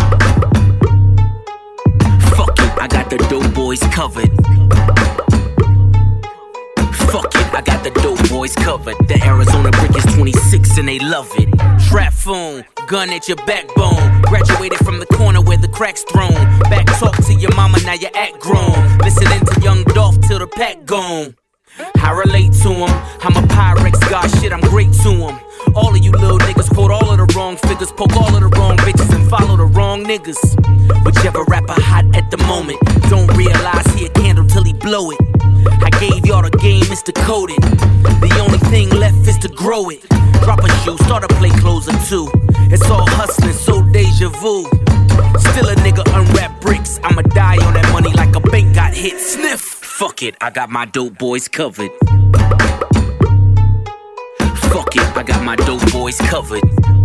Fuck it, I got the dope boys covered. I got the dope boys covered. The Arizona brick is twenty-six and they love it. Trap phone, gun at your backbone. Graduated from the corner where the crack's thrown. Back talk to your mama, now you act grown. Listening to Young Dolph till the pack gone. I relate to him, I'm a Pyrex god, shit, I'm great to him. All of you little niggas quote all of the wrong figures, poke all of the wrong bitches and follow the wrong niggas. Whichever rapper hot at the moment, don't realize he a candle till he blow it. I gave y'all the game, it's decoded. The only thing left is to grow it. Drop a shoe, start a play closer too. It's all hustling, so deja vu. Still a nigga unwrap bricks, I'ma die on that money like a bank got hit. Sniff! Fuck it, I got my dope boys covered. Fuck it, I got my dope boys covered.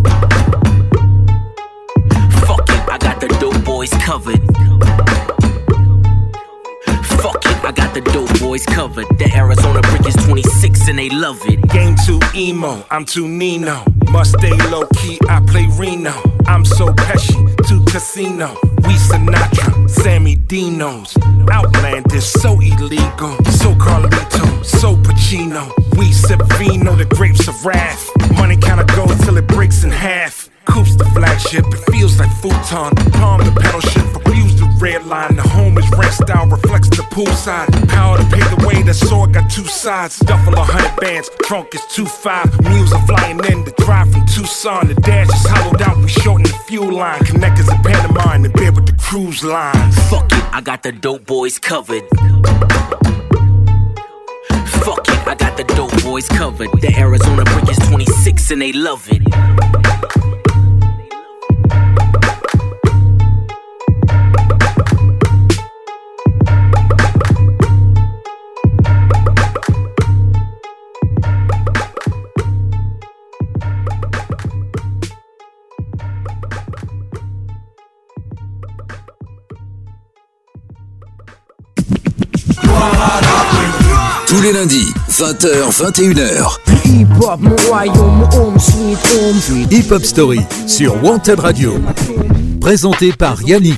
Fuck it, I got the dope boys covered. Fuck it, I got the dope boys covered. The Arizona brick is twenty-six and they love it. Game too emo, I'm too Nino. Must stay low key, I play Reno. I'm so Pesci, to Casino. We Sinatra, Sammy Dino's. Outlandish, so illegal. So Carlito, so Pacino. We sip vino, the grapes of wrath. Money kinda goes till it breaks in half. Coupes the flagship, it feels like futon. Palm the pedal shift, abuse the red line. The home is rent style, reflects the poolside. Power to pay the way, the sword got two sides. Duffel a hundred bands, trunk is two five. Mules are flying in, the drive from Tucson. The dash is hollowed out, we shorten the fuel line. Connectors in Panama, in bed with the cruise lines. Fuck it, I got the dope boys covered. Fuck it, I got the dope boys covered. The Arizona brick is twenty-six and they love it. Tous les lundis, vingt heures vingt et une heures. Hip Hop Story sur Wanted Radio. Présenté par Yannick.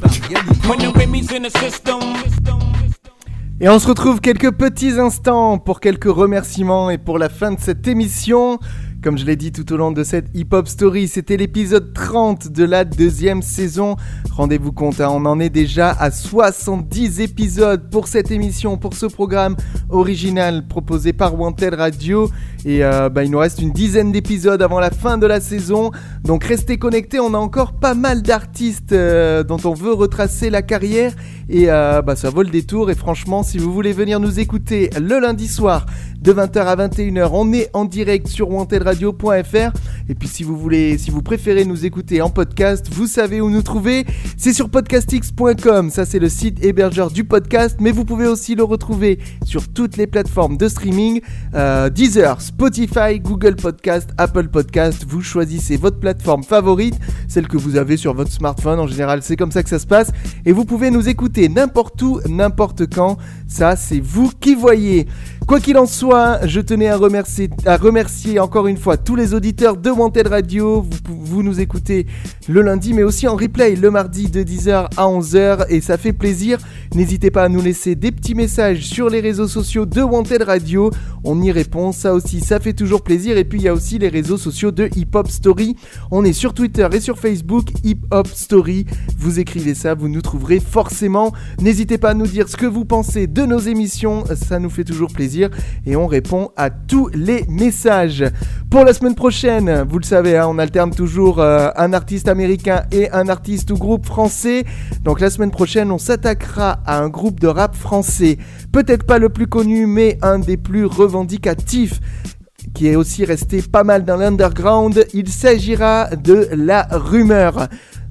Et on se retrouve quelques petits instants pour quelques remerciements et pour la fin de cette émission. Comme je l'ai dit tout au long de cette Hip Hop Story, c'était l'épisode trente de la deuxième saison. Rendez-vous compte, hein, on en est déjà à soixante-dix épisodes pour cette émission, pour ce programme original proposé par Wanted Radio. Et euh, bah, il nous reste une dizaine d'épisodes avant la fin de la saison. Donc restez connectés, on a encore pas mal d'artistes euh, dont on veut retracer la carrière. Et euh, bah, ça vaut le détour. Et franchement, si vous voulez venir nous écouter le lundi soir de vingt heures à vingt et une heures, on est en direct sur wanted radio point f r. Et puis si vous voulez, si vous préférez nous écouter en podcast, vous savez où nous trouver. C'est sur podcastx point com, ça c'est le site hébergeur du podcast. Mais vous pouvez aussi le retrouver sur toutes les plateformes de streaming, euh, Deezer, Spotify, Google Podcast, Apple Podcast. Vous choisissez votre plateforme favorite, celle que vous avez sur votre smartphone. En général, c'est comme ça que ça se passe. Et vous pouvez nous écouter n'importe où, n'importe quand. Ça, c'est vous qui voyez. Quoi qu'il en soit, je tenais à remercier, à remercier encore une fois tous les auditeurs de Wanted Radio. Vous, vous nous écoutez le lundi, mais aussi en replay le mardi de dix heures à onze heures, et ça fait plaisir. N'hésitez pas à nous laisser des petits messages sur les réseaux sociaux de Wanted Radio. On y répond, ça aussi, ça fait toujours plaisir. Et puis il y a aussi les réseaux sociaux de Hip Hop Story. On est sur Twitter et sur Facebook, Hip Hop Story. Vous écrivez ça, vous nous trouverez forcément. N'hésitez pas à nous dire ce que vous pensez de nos émissions, ça nous fait toujours plaisir. Et on répond à tous les messages. Pour la semaine prochaine, vous le savez, hein, on alterne toujours euh, un artiste américain et un artiste ou groupe français. Donc la semaine prochaine, on s'attaquera à un groupe de rap français. Peut-être pas le plus connu, mais un des plus revendicatifs, qui est aussi resté pas mal dans l'underground. Il s'agira de La Rumeur.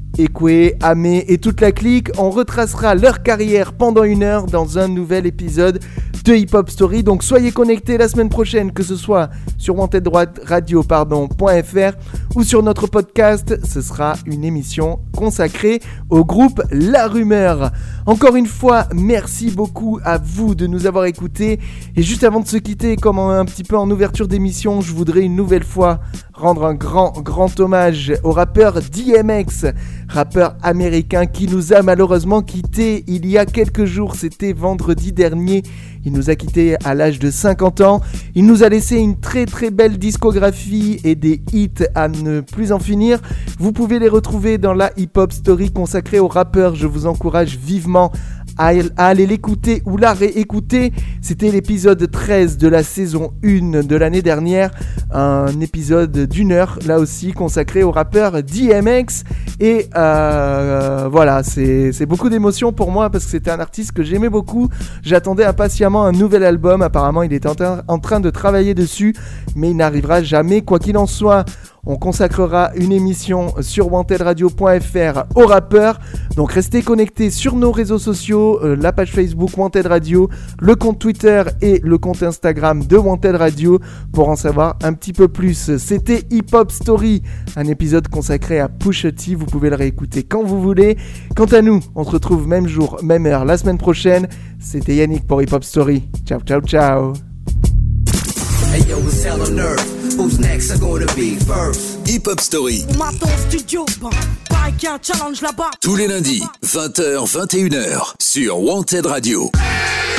Ekwe, Amé et toute la clique, on retracera leur carrière pendant une heure dans un nouvel épisode de Hip Hop Story. Donc soyez connectés la semaine prochaine, que ce soit sur wanted radio pardon, .fr ou sur notre podcast. Ce sera une émission consacrée au groupe La Rumeur. Encore une fois, merci beaucoup à vous de nous avoir écoutés. Et juste avant de se quitter, comme un petit peu en ouverture d'émission, je voudrais une nouvelle fois rendre un grand, grand hommage au rappeur D M X, rappeur américain qui nous a malheureusement quittés il y a quelques jours, c'était vendredi dernier. Il nous a quittés à l'âge de cinquante ans. Il nous a laissé une très très belle discographie et des hits à ne plus en finir. Vous pouvez les retrouver dans la Hip Hop Story consacrée au rappeur. Je vous encourage vivement à aller l'écouter ou la réécouter. C'était l'épisode treize de la saison un de l'année dernière, un épisode d'une heure là aussi consacré au rappeur D M X et euh, voilà, c'est, c'est beaucoup d'émotions pour moi parce que c'était un artiste que j'aimais beaucoup. J'attendais impatiemment un nouvel album, apparemment il est en, tra- en train de travailler dessus mais il n'arrivera jamais. Quoi qu'il en soit, on consacrera une émission sur wanted radio point f r aux rappeurs. Donc restez connectés sur nos réseaux sociaux, euh, la page Facebook Wanted Radio, le compte Twitter et le compte Instagram de Wanted Radio pour en savoir un petit peu plus. C'était Hip Hop Story, un épisode consacré à Pusha T. Vous pouvez le réécouter quand vous voulez. Quant à nous, on se retrouve même jour, même heure la semaine prochaine. C'était Yannick pour Hip Hop Story. Ciao, ciao, ciao. Hey yo, it's hell on earth. Who's next are gonna be first? Hip Hop Story. On m'attend au studio, ben, pareil qu'il y a un challenge là-bas. Tous les lundis, vingt heures, vingt et une heures, sur Wanted Radio.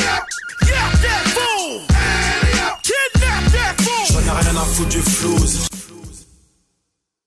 J'en ai rien à foutre du flouze.